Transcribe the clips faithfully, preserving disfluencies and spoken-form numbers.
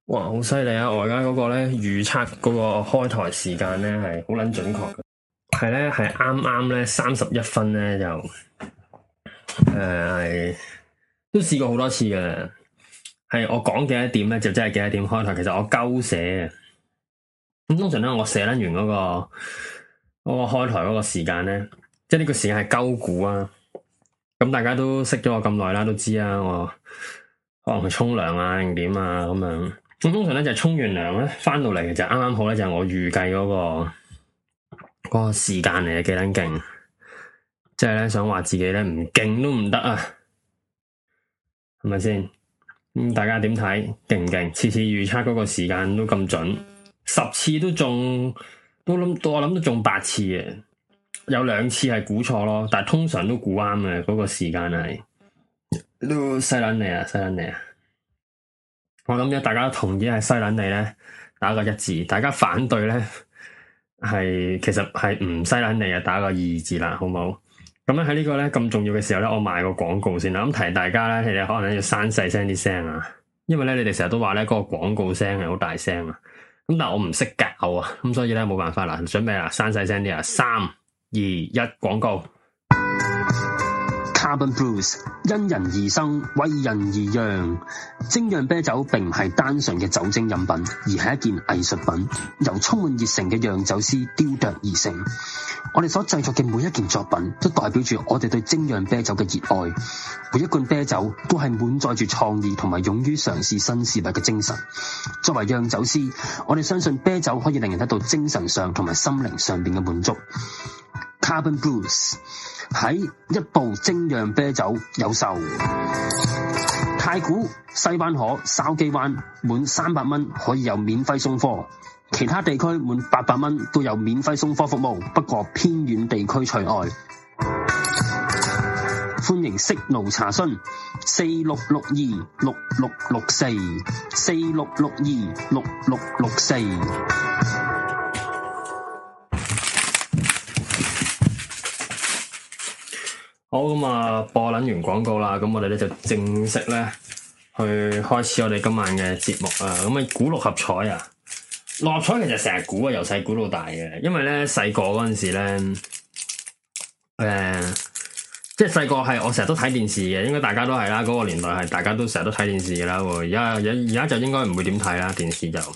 哇，好犀利啊！我而家嗰個咧預測嗰個開台時間咧係好捻準確嘅，係咧係啱啱咧三十一分咧就誒係、呃、都試過好多次嘅，係我講幾多點咧就真係幾多點開台。其實我鳩寫嘅，咁通常咧我寫得完嗰、嗰個、嗰個開台嗰個時間咧，即係呢個時間係鳩估啊。咁大家都識咗我咁耐啦，都知啊，我可能去沖涼啊定點啊咁樣。咁通常咧就沖完涼咧，翻到嚟就啱啱好咧，就係我預計嗰個嗰個時間嚟嘅，幾撚勁！即係咧想話自己咧唔勁都唔得啊，係咪先？咁大家點睇？勁唔勁？次次預測嗰個時間都咁準，十次都中，都諗我諗都中八次嘅，有兩次係估錯咯，但係通常都估啱嘅，嗰個時間係都犀撚你啊，犀撚你啊！我諗咗大家同意係西撚你咧，打個一字；大家反對咧，係其實係唔西撚你啊，打個二字啦，好唔好？咁咧喺呢個咧咁重要嘅時候咧，我賣個廣告先啦。咁提大家咧，你哋可能要刪細聲啲聲啊，因為咧你哋成日都話咧嗰個廣告聲係好大聲啊。咁但係我唔識教啊，咁所以咧冇辦法啦，準備啦，刪細聲啲啊，三二一，廣告。 Carbon Brews 因人而生，為人而釀。精釀啤酒並唔係單純嘅酒精飲品，而係一件藝術品，由充滿熱誠嘅釀酒師雕琢而成。我哋所製作嘅每一件作品，都代表住我哋對精釀啤酒嘅熱愛。每一罐啤酒都係滿載住創意同埋勇於嘗試新事物嘅精神。作為釀酒師，我哋相信啤酒可以令人得到精神上同埋心靈上邊嘅滿足。Carbon Brews 喺一部精釀啤酒有售，太古、西灣河、筲箕灣滿三百蚊可以有免費送貨，其他地區滿八百蚊都有免費送貨服務，不過偏遠地區除外。歡迎息怒查詢四六六二六六六四四六六二六六六四。 好，咁啊，播撚完廣告啦，咁我哋咧就正式咧去開始我哋今晚嘅節目啊！咁啊，估六合彩啊，六合彩其實成日估啊，由細估到大嘅，因為咧細個嗰陣時咧，誒、呃，即係細個係我成日都睇電視嘅，應該大家都係啦，嗰、嗰個年代係大家都成日都睇電視嘅啦。而家而而家就應該唔會點睇啦，電視就。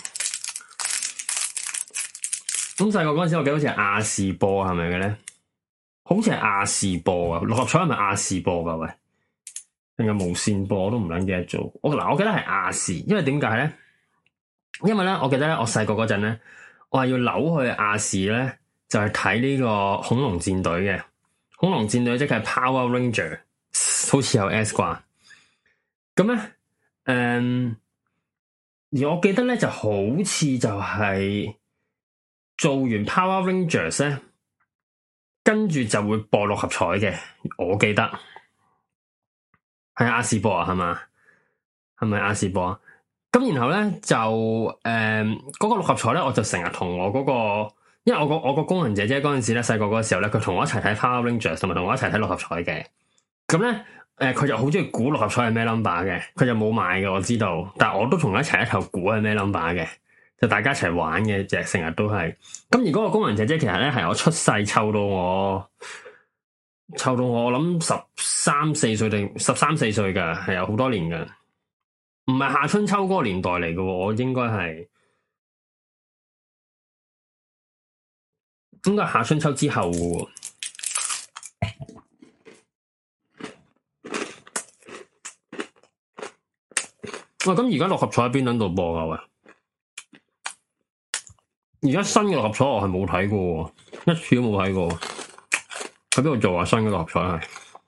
咁細個嗰陣時，我記得好似係亞視播，係咪嘅咧？好似係亞視播啊，六合彩係咪亞視播噶？喂，定係無線播？我都唔撚記得做。我嗱，我記得係亞視，因為點解咧？因為咧，我記得咧，我細個嗰陣咧，我係要扭去亞視咧，就係睇呢個恐龍戰隊嘅。恐龍戰隊即係 Power Ranger，好似有 S 啩。咁咧，誒、嗯，而我記得咧，就好似就係做完 Power Rangers 咧。跟住就會播六合彩嘅，我記得係亞視播啊，係嘛？係咪亞視播啊？咁然後咧就誒嗰、呃嗰個六合彩咧，我就成日同我嗰、嗰個，因為我個我個工人姐姐嗰陣時咧，細個嗰個時候咧，佢同我一齊睇 Power Rangers，同埋同我一齊睇六合彩嘅。咁咧誒，佢、呃、就好中意估六合彩係咩 number 嘅，佢就冇買嘅，我知道，但係我都同佢一齊一齊估係咩 number 嘅。就大家一齊玩嘅，就成日都係。咁而嗰個工人姐姐其實咧係我出世湊到我，湊到我，我諗十三四歲定十三四歲噶，係有好多年噶，唔係夏春秋嗰個年代嚟嘅，我應該係應該係夏春秋之後嘅。喂，咁而家六合彩喺邊度播啊？喂？而家新嘅六合彩我係冇睇過，一次都冇睇過。喺邊度做啊？新嘅六合彩係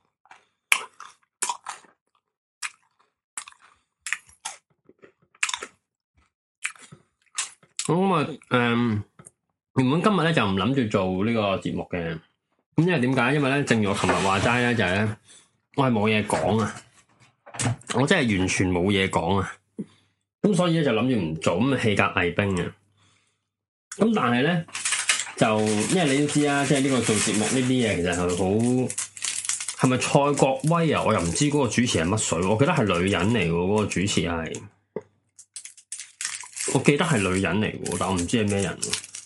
咁啊！誒、嗯，原本今日咧就唔諗住做呢個節目嘅，咁因為點解？因為咧，正如我琴日話齋咧，就係、是、咧，我係冇嘢講啊！我真係完全冇嘢講啊！咁所以咧就諗住唔做，咁棄甲藝兵啊！咁但係咧，就因為你都知啊，即係呢個做節目呢啲嘢，其實係好係咪蔡國威啊？我又唔知嗰個主持係乜水，我記得係女人嚟嘅，嗰個主持係。 我記得係女人嚟嘅，但我唔知係咩人，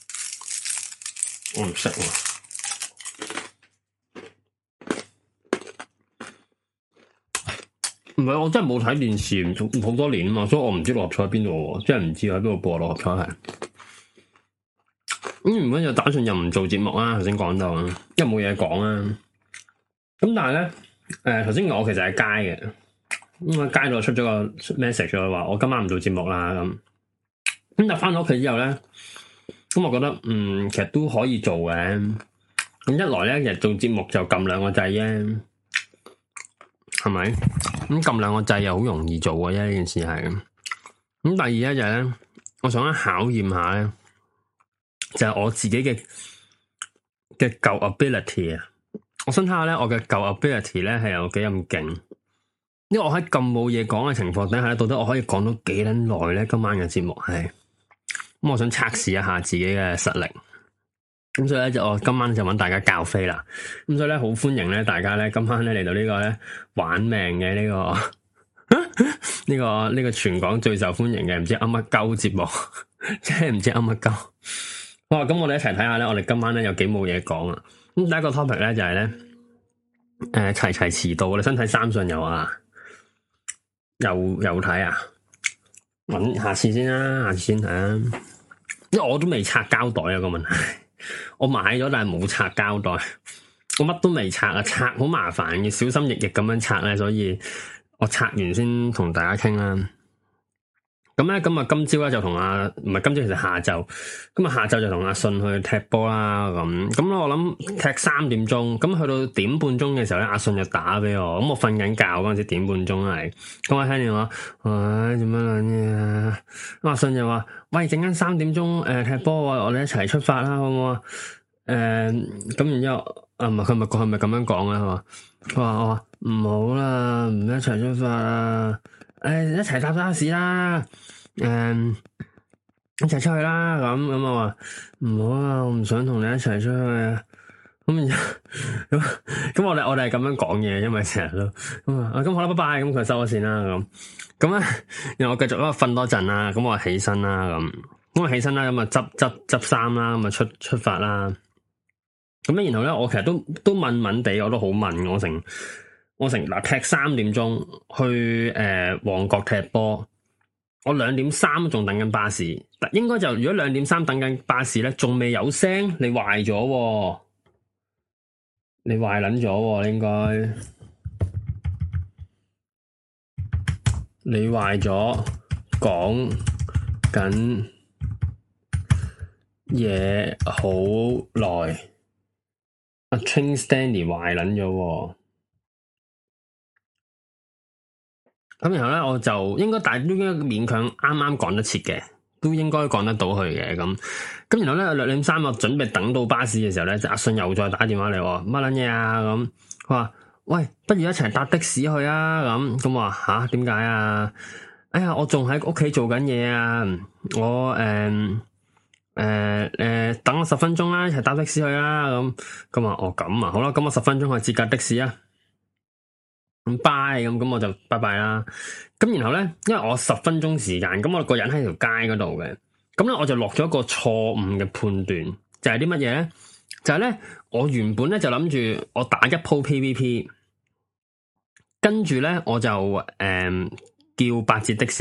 我唔識喎。唔係，我真係冇睇電視好多年啊嘛，所以我唔知六合彩喺邊度，真係唔知喺邊度播六合彩係。咁原本就打算又唔做節目啦，頭先講到，因為冇嘢講啊。咁但係咧，誒頭先我其實喺街嘅，咁喺街度出咗個 message 就話我今晚唔做節目啦咁。咁但係翻到屋企之後咧，咁我覺得嗯其實都可以做嘅。咁一來咧，其實做節目就撳兩個掣啫。係咪？咁撳兩個掣又好容易做嘅啫，呢件事係。咁第二咧就係咧，我想考驗下咧，就係我自己嘅嘅舊 ability 啊。我想睇下咧，我嘅舊 ability 咧係有幾咁勁。因為我喺咁冇嘢講嘅情況底下咧，到底我可以講到幾撚耐咧？今晚嘅節目係，咁我想測試一下自己嘅實力。咁所以咧就我今晚就揾大家教飛啦，咁所以咧好歡迎咧大家咧今晚咧嚟到呢個咧玩命嘅呢個呢個呢個全港最受歡迎嘅唔知噏乜鳩節目，即係唔知噏乜鳩。哇！咁我哋一齊睇下咧，我哋今晚咧有幾冇嘢講啊！咁第一個 topic 咧就係咧，誒齊齊遲到，你想睇三信有啊？又又睇啊？揾下次先啦，下次先睇啊！因為我都未拆膠袋啊個問題。我買咗但係冇拆膠袋，我乜都未拆啊！拆好麻煩嘅，小心翼翼咁樣拆咧，所以我拆完先同大家傾啦。咁咧，咁啊，今朝咧就同阿唔係今朝，其實下晝，咁啊下晝就同阿信去踢波啦。咁咁我諗踢三點鐘，咁去到點半鐘嘅時候咧，阿信就打俾我，咁我瞓緊覺嗰陣時點半鐘係，咁我聽電話，唉做乜撚嘢啊？咁阿信就話：喂，陣間三點鐘誒、呃、踢波，我哋一齊出發啦，好唔好啊？誒、呃，咁然之後啊，唔係佢咪佢係咪咁樣講啊？係嘛？佢話我話唔好啦，唔一齊出發啦。誒、哎，一齊搭巴士啦，誒、嗯，一齊出去啦，咁咁我話唔好啊，我唔想同你一齊出去啊，咁咁咁我哋我哋係咁樣講嘢，因為成日都咁啊，咁好啦，拜拜，咁佢收咗線啦，咁咁咧，然後我繼續喺度瞓多陣啦，咁我起身啦，咁咁我起身啦，咁啊執執執衫啦，咁啊出出發啦，咁咧然後咧，我其實都都問問地，我都好問我成。我成嗱踢三點鐘去誒旺角踢波，我兩點三仲等緊巴士，應該就如果兩點三等緊巴士咧，仲未有聲，你壞咗，你壞撚咗，應該你壞咗，講緊嘢好耐，阿 Train Stanley 壞撚咗。咁然後咧，我就應該大都應該勉強啱啱趕得切嘅，都應該趕得到去嘅咁。咁然後咧，兩點三我準備等到巴士嘅時候咧，阿信又再打電話嚟，乜撚嘢啊？咁佢話：喂，不如一齊搭的士去啊！咁咁話吓，點解啊？哎呀，我仲喺屋企做緊嘢啊！我誒誒誒，等我十分鐘啦，一齊搭的士去啦！咁咁話哦咁啊，好啦，咁我十分鐘去接架的士啊！咁拜咁咁我就拜拜啦。咁然後咧，因為我十分鐘時間，咁我個人喺條街嗰度嘅，咁咧我就落咗一個錯誤嘅判斷，就係啲乜嘢咧？就係咧，我原本咧就諗住我打一鋪 P V P， 跟住咧我就誒、嗯、叫八折的士，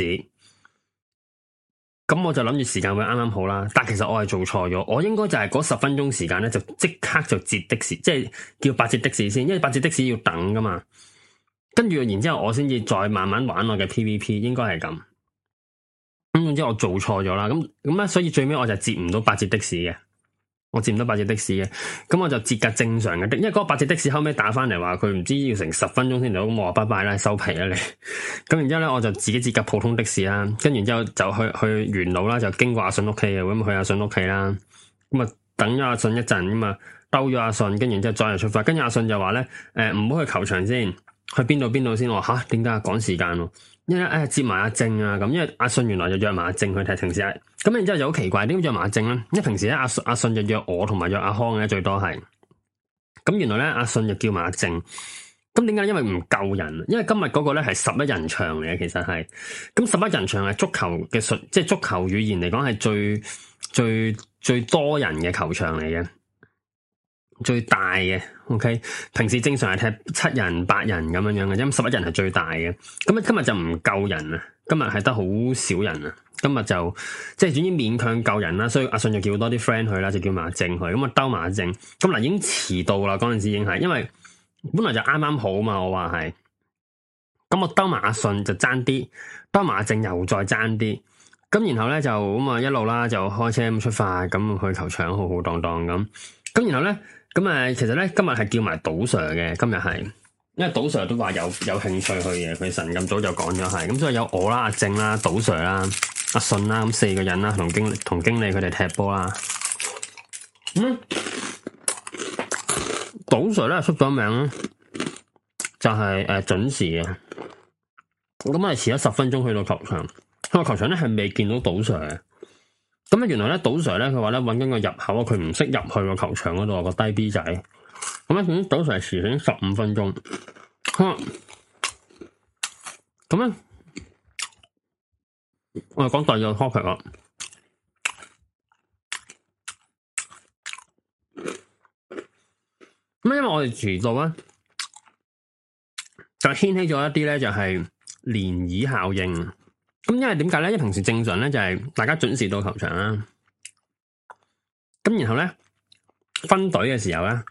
咁我就諗住時間會啱啱好啦。但其實我係做錯咗，我應該就係嗰十分鐘時間咧就即刻就截的士，即係叫八折的士先，因為八折的士要等噶嘛。跟住，然之後我先至再慢慢玩我嘅 P V P， 應該係咁。咁總之我做錯咗啦，咁咁咧，所以最尾我就截唔到八折的士嘅，我截唔到八折的士嘅。咁我就截架正常嘅的，因為嗰個八折的士後尾打翻嚟話佢唔知要成十分鐘先到，咁我話拜拜啦，收皮啦你。咁然之後咧，我就自己截架普通的士啦，跟住然之後就去去元朗啦，就經過阿信屋企嘅，咁去阿信屋企啦。咁啊等咗阿信一陣，咁啊兜咗阿信，跟住然之後再嚟出發。跟住阿信就話咧，誒唔好去球場先。去邊度邊度先？我話吓，點解趕時間咯？因為誒接埋阿正啊，咁因為阿信原來就約埋阿正去踢，平時咁然之後就好奇怪，點解約埋阿正咧？因為平時咧阿阿信就約我同埋約阿康嘅最多係，咁原來咧阿信就叫埋阿正， 咁點解？因為唔夠人，因為今日嗰個咧係十一人場嚟嘅，其實係咁十一人場係足球嘅術，即係足球語言嚟講係最最最多人嘅球場嚟嘅，最大嘅。OK， 平時正常係踢七人八人咁樣樣嘅，因為十一人係最大嘅。咁啊，今日就唔夠人啊，今日係得好少人啊。今日就即係總之勉強夠人啦，所以阿信就叫多啲 friend 去啦，就叫馬正去。咁啊兜馬正，咁嗱已經遲到啦，嗰陣時已經係，因為本來就啱啱好嘛，我話係。咁我兜馬阿信就爭啲，兜馬正又再爭啲。咁然後咧就咁啊一路啦，就開車咁出發，咁去球場浩浩蕩蕩咁。咁然後咧，咁啊其實咧今日係叫埋賭 Sir 嘅，今日係，因為賭 Sir 都話有有興趣去嘅，佢晨咁早就講咗係。咁所以有我啦、阿正啦、賭 Sir 啦、阿信啦，咁四個人啦，同經同經理佢哋踢波啦。嗯，賭 Sir 咧出咗名，就係、是、誒準時嘅。咁我哋遲咗十分鐘去到球場，個球場咧係未見到賭 Sir 嘅。咁啊原來咧賭 Sir 咧佢話咧搵緊個入口啊，佢唔識入去個球場嗰度個低 B 仔。咁咧咁賭 Sir 遲咗十五分鐘。咁咧我哋講第二個 topic 啦。咁因為我哋遲到咧，就掀起咗一啲咧，就係漣漪效應。咁因為點解咧？因為平時正常咧就係大家準時到球場啦。咁然後咧分隊嘅時候咧，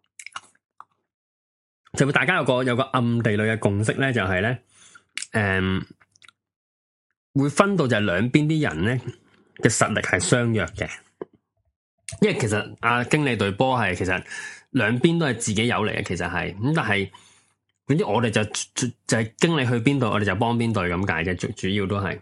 就會大家有個有個暗地裏嘅共識咧，就係咧，誒，會分到就係兩邊啲人咧嘅實力係相若嘅。因為其實阿經理隊波係其實兩邊都係自己有嚟嘅，其實係咁，但係總之我哋就就就係經理去邊度，我哋就幫邊隊咁解嘅，主主要都係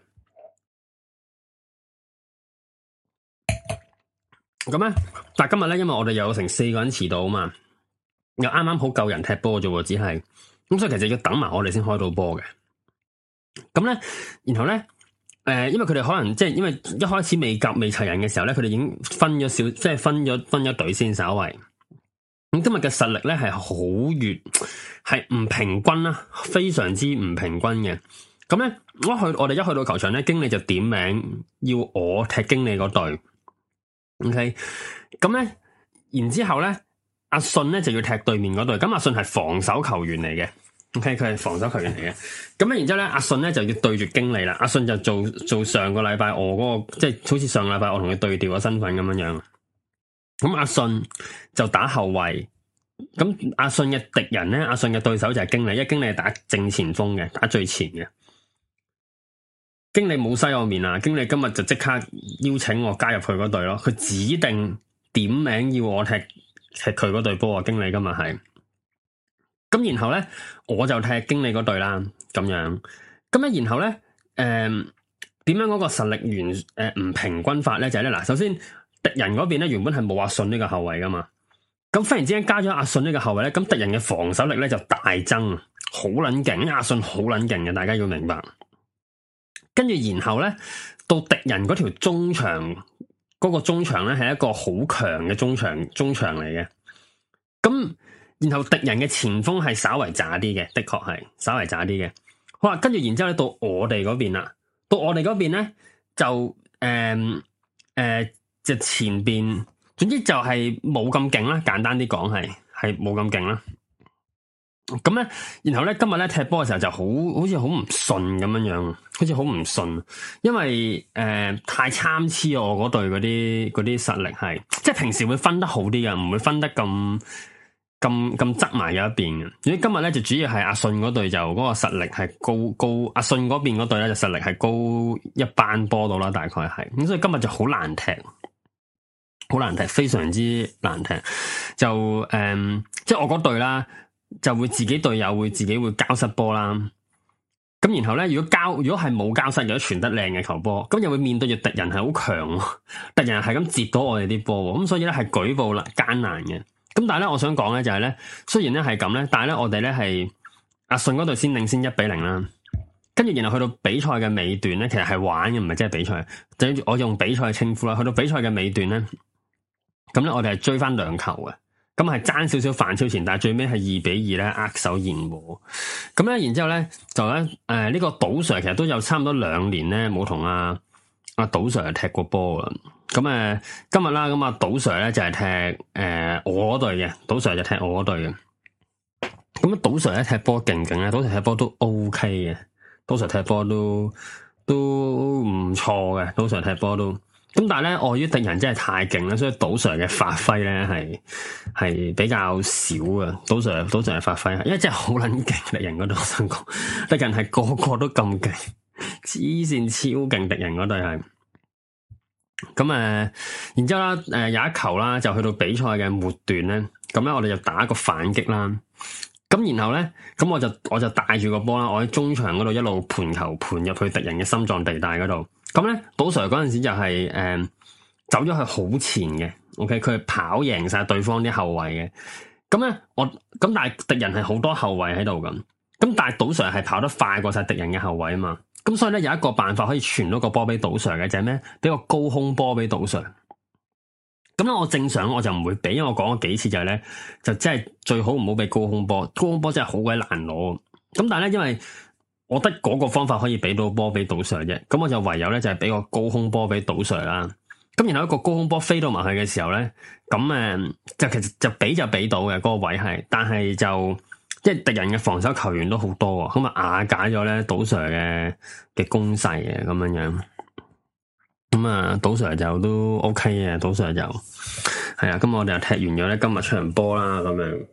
咁咧。但係今日咧，因為我哋有成四個人遲到啊嘛，又啱啱好夠人踢波啫喎，只係咁，所以其實要等埋我哋先開到波嘅。咁咧，然後咧，誒、呃，因為佢哋可能即係因為一開始未夾未齊人嘅時候咧，佢哋已經分咗少，即係分咗分咗隊先，稍為。咁今日嘅實力咧係好越係唔平均啦，非常之唔平均嘅。咁咧，我去我哋一去到球場咧，經理就點名要我踢經理嗰隊。OK，咁咧，然之後咧，阿信咧就要踢對面嗰隊。咁阿信係防守球員嚟嘅。OK，佢係防守球員嚟嘅。咁咧，然之後咧，阿信咧就要對住經理啦。阿信就做做上個禮拜我嗰個，即係好似上個禮拜我同佢對調嘅身份咁樣樣。咁阿信就打後衛，咁阿信嘅敵人咧，阿信嘅對手就係經理，因為經理係打正前鋒嘅，打最前嘅。經理冇西我面啊，經理今日就即刻邀請我加入佢嗰隊咯，佢指定點名要我踢踢佢嗰隊波啊，經理今日係。咁然後咧，我就踢經理嗰隊啦，咁樣。咁咧，然後咧，誒、呃，點樣嗰個實力原誒唔平均法咧？就係咧，嗱，首先。敵人嗰邊咧原本係冇阿信呢個後衛噶嘛，咁忽然之間加咗阿信呢個後衛咧，咁敵人嘅防守力咧就大增，好撚勁，因為阿信好撚勁嘅，大家要明白。跟住然後咧，到敵人嗰條中場嗰、嗰個中場咧係一個好強嘅中場中場嚟嘅，咁然後敵人嘅前鋒係稍為渣啲嘅，的確係稍為渣啲嘅。好啦，跟住然之後咧到我哋嗰邊啦，到我哋嗰邊咧就誒誒。呃呃就前邊，總之就係冇咁勁啦。簡單啲講係係冇咁勁啦。咁咧，然後咧今日咧踢波嘅時候就好好似好唔順咁樣樣，好似好唔順，因為誒、呃、太參差我嗰隊嗰啲嗰啲實力係，即係平時會分得好啲嘅，唔會分得咁咁咁側埋咗一邊嘅。所以今日咧就主要係阿信嗰隊就嗰個實力係高高，阿信嗰邊嗰隊咧就實力係高一班波到啦，大概係咁，所以今日就好難踢。好難踢，非常之難踢。就誒、嗯，即係我嗰隊啦，就會自己隊友會自己會交失波啦。咁然後咧，如果交如果係冇交失，如果傳得靚嘅球波，咁又會面對住敵人係好強，敵人係咁截到我哋啲波，咁所以咧係舉步啦艱難嘅。咁但係咧，我想講咧就係咧，雖然咧係咁咧，但係咧我哋咧係阿信嗰隊先領先一比零啦。跟住然後去到比賽嘅尾段咧，其實係玩嘅，唔係真係比賽。就我用比賽稱呼啦。去到比賽嘅尾段咧。咁咧，我哋係追翻兩球嘅， 咁係爭少少反超前，但係最尾係二比二咧握手言和。咁咧，然之後咧就咧誒呢、呃這個賭 Sir 其實都有差唔多兩年咧冇同阿阿賭 Sir 踢過波啊。咁誒、呃、今日啦，咁啊賭 Sir 咧就係、是、踢誒、呃、我嗰隊嘅，賭 Sir 就踢我嗰隊嘅。咁啊賭 Sir 咧踢波勁勁咧，賭 Sir 踢波都 OK 嘅，賭 Sir 踢波都都唔錯嘅，賭 Sir 踢波都。咁但係咧，礙於敵人真係太勁啦，所以賭 Sir 嘅發揮咧係係比較少啊。賭 Sir 賭 Sir 嘅發揮，因為真係好撚勁，敵人嗰度我想講，敵人係個個都咁勁，黐線超勁，敵人嗰隊係。咁誒、呃，然之後啦，誒、呃、有一球啦，就去到比賽嘅末段咧，咁咧我哋就打一個反擊啦。咁然後咧，咁我就我就帶住個波啦，我喺中場嗰度一路盤球盤入去敵人嘅心臟地帶嗰度。咁咧，賭 Sir 嗰陣時就係、是、誒、呃、走咗去好前嘅 ，OK，佢係跑贏晒對方啲後衛嘅。咁咧，我咁但係敵人係好多後衛喺度咁，咁但係賭 Sir 係跑得快過晒敵人嘅後衛啊嘛。咁所以咧有一個辦法可以傳到個波俾賭 Sir 嘅就係咩？俾個高空波俾賭 Sir。咁咧我正常我就唔會俾，因為我講咗幾次就係、是、咧，就真係最好唔好俾高空波，高空波真係好鬼難攞。咁但係咧因為我得嗰個方法可以俾到波俾賭 Sir 啫，咁我就唯有咧就係、是、俾個高空波俾賭 Sir 啦。咁然後一個高空波飛到埋去嘅時候咧，咁誒就其實就俾就俾到嘅嗰、那個位係，但係就即係敵人嘅防守球員都好多，咁啊瓦解咗咧賭 Sir 嘅嘅攻勢嘅咁樣樣。咁啊賭 Sir 就都 OK 嘅，賭 Sir 就係啊。咁我哋又踢完咗咧今日場波啦，咁樣。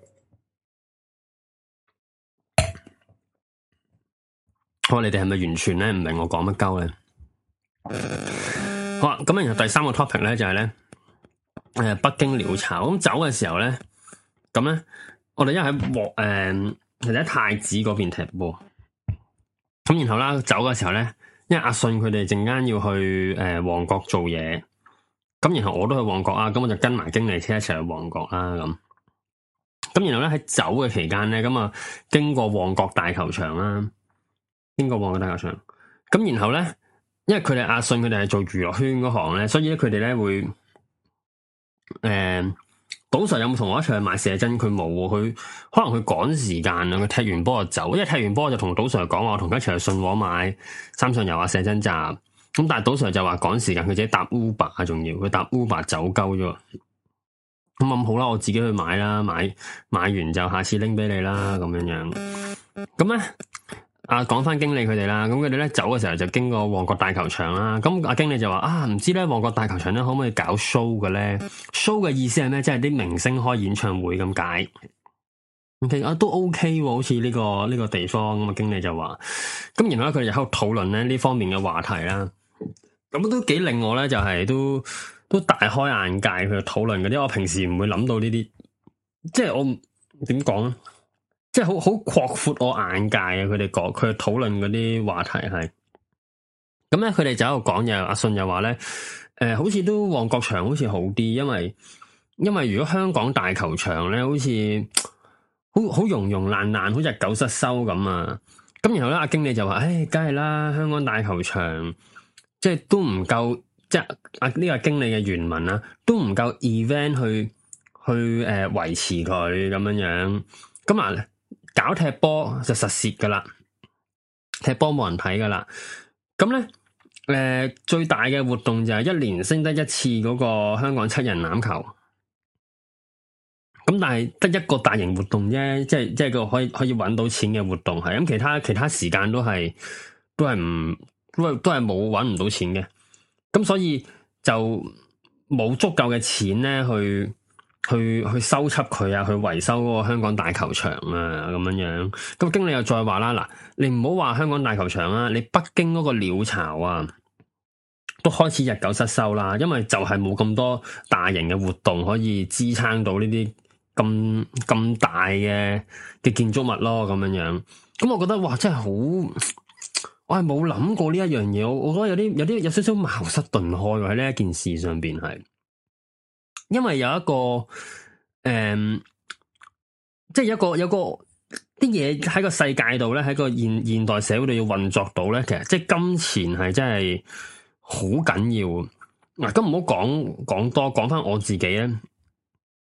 哦、你哋係咪完全咧唔明我講乜鳩咧？好啦，咁然後第三個 topic 咧就係咧，誒北京鳥巢咁走嘅時候咧，咁咧我哋因為喺旺誒，其實喺太子嗰邊踢波，咁然後啦走嘅時候咧，因為阿信佢哋陣間要去誒旺角做嘢，咁然後我都去旺角啊，咁我就跟埋經理車一齊去旺角啦咁。咁然後咧喺走嘅期間咧，咁啊經過旺角大球場啦。經過旺角大球場，咁然後咧，因為佢哋阿信佢哋係做娛樂圈嗰行咧，所以咧佢哋咧會，誒、呃，賭 Sir 有冇同我一齊去買射針？佢冇，佢可能佢趕時間啊，佢踢完波就走，因為踢完波就同賭 Sir 講話，我同佢一齊去信和買三上游啊射針站，咁但係賭 Sir 就話趕時間，佢自己搭 Uber 啊，仲要佢搭 Uber 走鳩咗，咁咁好啦，我自己去買啦，買買完就下次拎俾你啦，咁樣樣，咁咧。啊，講翻經理佢哋啦，咁佢哋咧走嘅時候就經過旺角大球場啦。咁阿經理就話啊，唔知咧旺角大球場咧可唔可以搞 show 嘅咧 ？show 嘅意思係咩？即係啲明星開演唱會咁解。OK 啊，都 OK 喎，好似呢個呢個地方咁啊。經理就話，咁然後咧佢哋喺度討論咧呢方面嘅話題啦。咁都幾令我咧就係都都大開眼界，佢哋討論嗰啲，我平時唔會諗到呢啲，即係我點講咧？即係好好擴闊我眼界啊！佢哋講佢討論嗰啲話題係，咁咧佢哋就喺度講嘢。阿信又話咧，誒、呃，好似都旺角場好似好啲，因為因為如果香港大球場咧，好似好好融融爛爛，好似日久失修咁啊。咁然後咧，阿經理就話，誒、哎，梗係啦，香港大球場即係都唔夠，即係阿呢個經理嘅原文啊，都唔夠 event 去去誒維、呃、持佢咁樣樣。咁啊。搞踢波就實蝕噶啦，踢波冇人睇噶啦。咁咧，誒、呃、最大嘅活動就係一年升得一次嗰個香港七人欖球。咁但係得一個大型活動啫，即係即係個可以可以搵到錢嘅活動係。咁其他其他時間都係都係唔都係都係冇搵唔到錢嘅。咁所以就冇足夠嘅錢咧去。去去修葺佢啊，去維修嗰個香港大球場啊，咁樣樣。咁經理又再話啦，嗱，你唔好話香港大球場啊，你北京嗰個鳥巢啊，都開始日久失修啦，因為就係冇咁多大型嘅活動可以支撐到呢啲咁咁大嘅嘅建築物咯，咁樣樣。咁我覺得哇，真係好，我係冇諗過呢一樣嘢，我我覺得有啲有啲有少少茅塞頓開喺呢一件事上邊係。因為有一個誒、嗯，即係有一個有一個啲嘢喺個世界度咧，喺個現現代社會度要運作到咧，其實即係金錢係真係好緊要。嗱，咁唔好講講多，講翻我自己咧。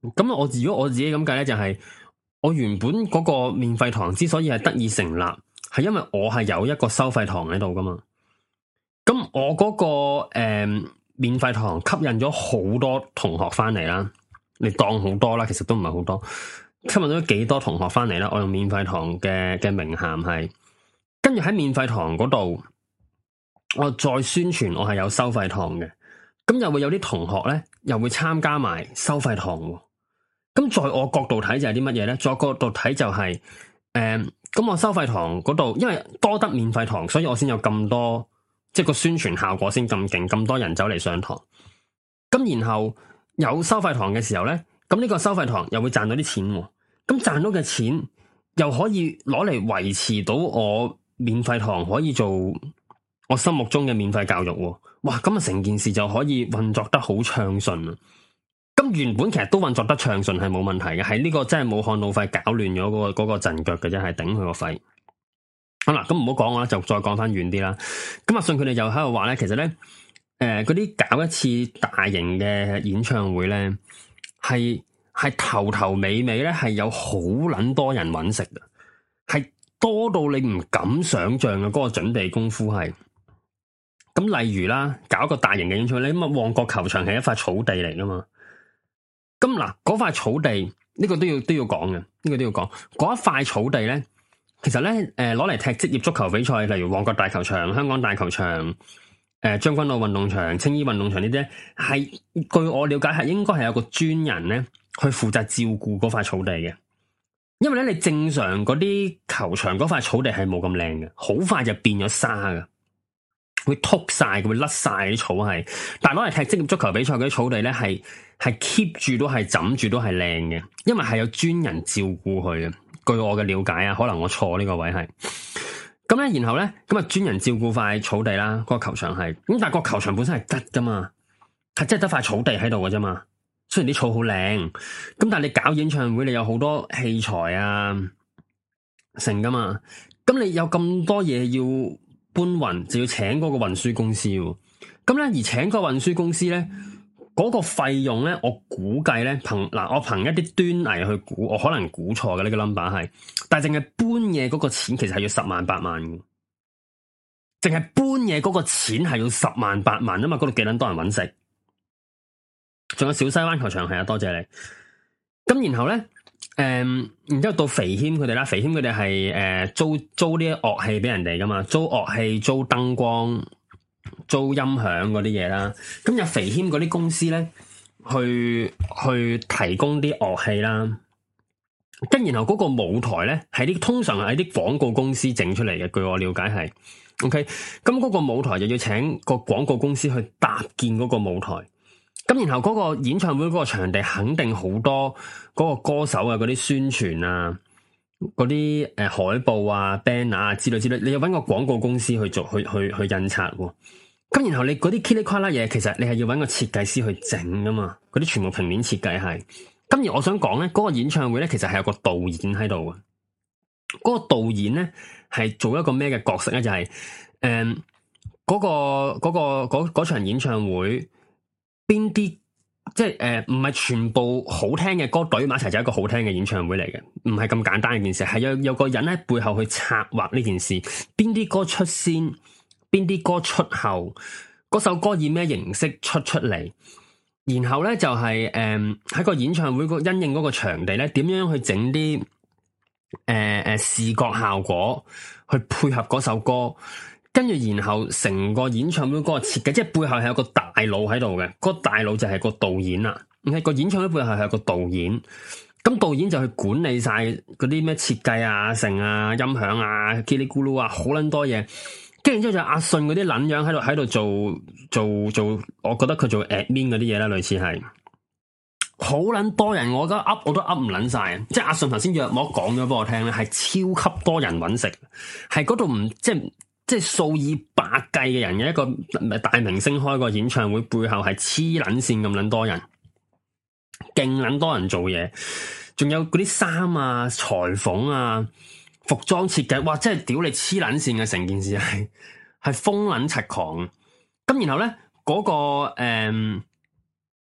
咁我如果我自己咁計咧，就係、是、我原本嗰個免費堂之所以係得以成立，係因為我係有一個收費堂喺度噶嘛。咁我嗰、那個誒、呃、免費堂吸引咗好多同學翻嚟啦，你當好多啦，其實都唔係好多，吸引咗幾多同學翻嚟啦。我用免費堂嘅嘅名銜係，跟住喺免費堂嗰度，我再宣傳我係有收費堂嘅，咁又會有啲同學咧，又會參加埋收費堂。咁在我角度睇就係啲乜嘢咧？在我角度睇就係、是，誒、呃，咁我收費堂嗰度，因為多得免費堂，所以我先有咁多，即係個宣傳效果先咁勁，咁多人走嚟上堂。咁然後有收費堂嘅時候咧，咁呢個收費堂又會賺到啲錢，咁賺到嘅錢又可以攞嚟維持到我免費堂可以做我心目中嘅免費教育。哇！咁啊成件事就可以運作得好暢順啊！咁原本其實都運作得暢順係冇問題嘅，係呢個真係武漢肺炎搞亂咗嗰個嗰個陣腳嘅啫，係頂佢個肺。好啦，咁唔好講啦，就再講翻遠啲啦。咁阿信佢哋又喺度話咧，其實咧，誒嗰啲搞一次大型嘅演唱會咧，係係頭頭尾尾咧係有好捻多人揾食嘅，係多到你唔敢想象嘅嗰個準備功夫係。咁例如啦，搞一個大型嘅演唱會，你咁啊旺角球場係一塊草地嚟噶嘛。咁嗱，嗰塊草地呢、這個都要都要講嘅，呢、這個都要講。嗰一塊草地咧，其實咧，誒攞嚟踢職業足球比賽，例如旺角大球場、香港大球場、誒、呃、將軍澳運動場、青衣運動場呢啲，係據我了解係應該係有個專人咧去負責照顧嗰塊草地嘅。因為咧，你正常嗰啲球場嗰塊草地係冇咁靚嘅，好快就變咗沙嘅。會禿晒，會甩晒啲草係，但係攞嚟踢職業足球比賽嗰啲草地咧，係係 keep 住都係枕住都係靚嘅，因為係有專人照顧佢嘅。據我嘅了解啊，可能我錯呢個位係。咁咧，然後咧，咁啊專人照顧塊草地啦，嗰個球場係。咁但係個球場本身係吉噶嘛，係即係得塊草地喺度嘅啫嘛。雖然啲草好靚，咁但係你搞演唱會，你有好多器材啊，成噶嘛。咁你有咁多嘢要搬運就要請嗰個運輸公司，咁咧而請個運輸公司咧，嗰、嗰個費用咧，我估計咧憑嗱，我憑一啲端倪去估，我可能估錯嘅呢個 number 係，但係淨係搬嘢嗰個錢其實係要十萬八萬嘅，淨係搬嘢嗰個錢係要十萬八萬啊嘛，嗰度幾捻多人搵食，仲有小西灣球場係啊，多謝你，咁然後咧。誒、嗯，然之後到肥謙佢哋啦，肥謙佢哋係誒租租啲樂器俾人哋噶嘛，租樂器、租燈光、租音響嗰啲嘢啦。咁有肥謙嗰啲公司咧，去去提供啲樂器啦。跟然後嗰個舞台咧，係啲通常係啲廣告公司整出嚟嘅。據我了解係，OK。咁嗰個舞台就要請個廣告公司去搭建嗰個舞台。咁然後嗰個演唱會嗰個場地肯定好多嗰個歌手啊，嗰啲宣傳啊，嗰啲誒海報啊、banner 啊之類之類，你要搵個廣告公司去做，去去去印刷。咁然後你嗰啲噼里啪啦嘢，其實你係要搵個設計師去整噶嘛，嗰啲全部平面設計係。咁而我想講咧，嗰個演唱會咧，其實係有個導演喺度嘅。嗰個導演咧係做一個咩嘅角色咧？就係誒嗰個嗰個嗰嗰場演唱會。邊啲即係誒，唔係全部好聽嘅歌隊埋一齊就係一個好聽嘅演唱會嚟嘅，唔係咁簡單嘅件事，係有有個人喺背後去策劃呢件事，邊啲歌出先，邊啲歌出後，嗰首歌以咩形式出出嚟，然後咧就係誒喺個演唱會個因應嗰個場地咧，點樣去整啲誒誒視覺效果去配合嗰首歌。跟住，然後成個演唱會嗰個設計，即係背後係有個大佬喺度嘅，嗰個大佬就係個導演啦。咁係個演唱會背後係有個導演，咁導演就去管理晒嗰啲咩設計啊、成啊、音響啊、嘰里咕嚕啊，好撚多嘢。跟住之後就阿信嗰啲撚樣喺度喺度做做做，我覺得佢做 admin 嗰啲嘢啦，類似係好撚多人，我覺得噏我都噏唔撚晒。即係阿信頭先約莫講咗俾我聽咧，係超級多人揾食，係嗰度唔即係。即係數以百計嘅人嘅一個大明星開個演唱會，背後係黐撚線咁撚多人，勁撚多人做嘢，仲有嗰啲衫啊、裁縫啊、服裝設計，哇！真係屌你黐撚線嘅，成件事係係瘋撚柒狂。咁然後咧嗰、嗰個誒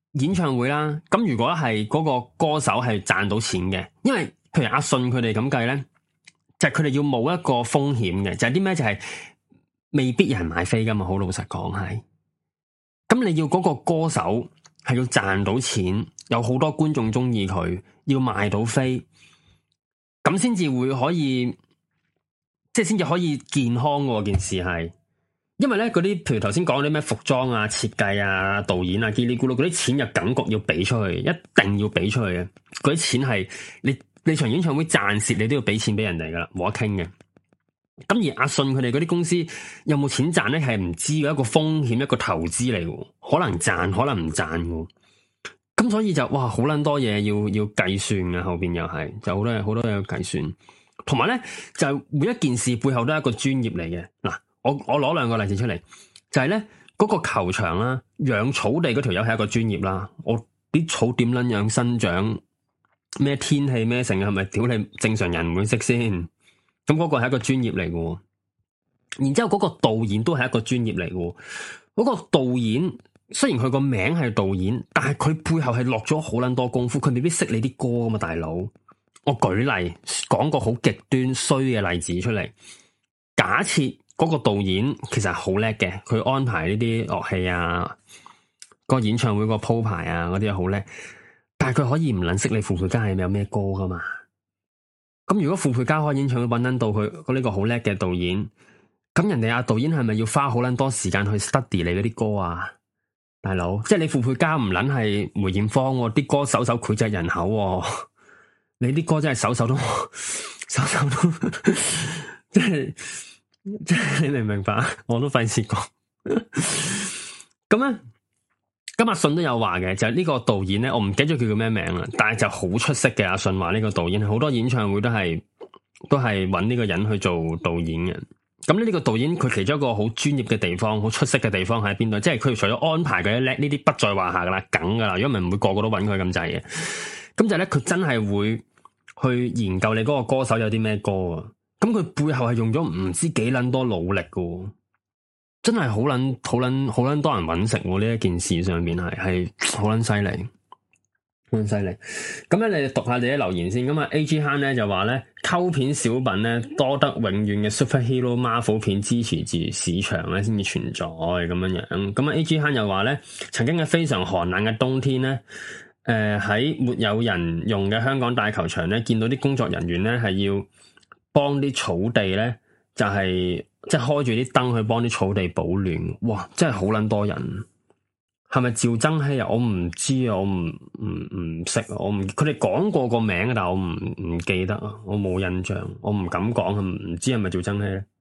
演唱會啦，咁如果係嗰個歌手係賺到錢嘅，因為譬如阿信佢哋咁計咧，就係佢哋要冒一個風險嘅，就係啲咩？就係未必有人買飛噶嘛，好老實講係。咁你要嗰個歌手係要賺到錢，有好多觀眾中意佢，要賣到飛，咁先至會可以，即係先至可以健康喎。件事係。因為咧嗰啲，譬如頭先講啲咩服裝啊、設計啊、導演啊、嘰里咕嚕嗰啲錢，又感覺要俾出去，一定要俾出去嘅。嗰啲錢係你你場演唱會賺蝕，你都要俾錢俾人哋噶啦，冇得傾嘅。咁而阿信佢哋嗰啲公司有冇錢賺咧，係唔知嘅，一個風險，一個投資嚟嘅，可能賺，可能唔賺嘅。咁所以就哇，好捻多嘢要要計算嘅，後邊又係就好多嘢好多嘢要計算，同埋咧就每一件事背後都係一個專業嚟嘅嗱。我我攞兩個例子出嚟，就係咧嗰個球場啦，養草地嗰條友係一個專業啦。我啲草點撚樣生長，咩天氣咩成，係咪屌你正常人唔會識先？咁嗰個係一個專業嚟嘅。然之後嗰個導演都係一個專業嚟嘅。嗰個導演雖然佢個名係導演，但係佢背後係落咗好撚多功夫，佢未必識你啲歌㗎嘛，大佬。我舉例講個好極端衰嘅例子出嚟，假設。嗰個導演其實好叻嘅，佢安排呢啲樂器啊，個演唱會個鋪排啊，嗰啲好叻。但係佢可以唔撚識你傅佩嘉係有咩歌噶嘛？咁如果傅佩嘉開演唱會揾撚到佢，嗰呢個好叻嘅導演，咁人哋阿導演係咪要花好撚多時間去 study 你嗰啲歌啊？大佬，即係你傅佩嘉唔撚係梅艷芳喎，啲歌首首膾炙人口喎，你啲歌真係首首都首首都即係。即係你明唔明白？我都費事講。咁咧，今日阿信都有話嘅，就係、是、呢個導演咧，我唔記得咗佢叫咩名啦，但係就好出色嘅。阿信話呢個導演好多演唱會都係都係揾呢個人去做導演嘅。咁呢呢個導演佢其中一個好專業嘅地方，好出色嘅地方喺邊度？即係佢除咗安排佢叻，呢啲不在話下噶啦，梗噶啦。如果唔係唔會個個都揾佢咁滯嘅。咁就咧，佢真係會去研究你嗰個歌手有啲咩歌啊。咁佢背後係用咗唔知幾捻多努力嘅，真係好捻好捻好捻多人揾食喎。呢一件事上面係係好捻犀利，好捻犀利。咁咧，你讀下你啲留言先。咁啊，A G 慳咧就話咧，溝片小品咧多得永遠嘅 superhero Marvel 片支持住市場咧，先至存在咁樣樣。咁啊，A G 慳又話咧，曾經嘅非常寒冷嘅冬天咧，誒、呃、喺沒有人用嘅香港大球場咧，見到啲工作人員咧係要。幫啲草地咧，就係即係開住啲燈去幫啲草地保暖。哇，真係好捻多人。係咪趙增熹啊？我唔知啊，我唔唔唔識啊，我唔佢哋講過個名，但係我唔唔記得啊，我冇印象，我唔敢講，唔知係咪趙增熹咧。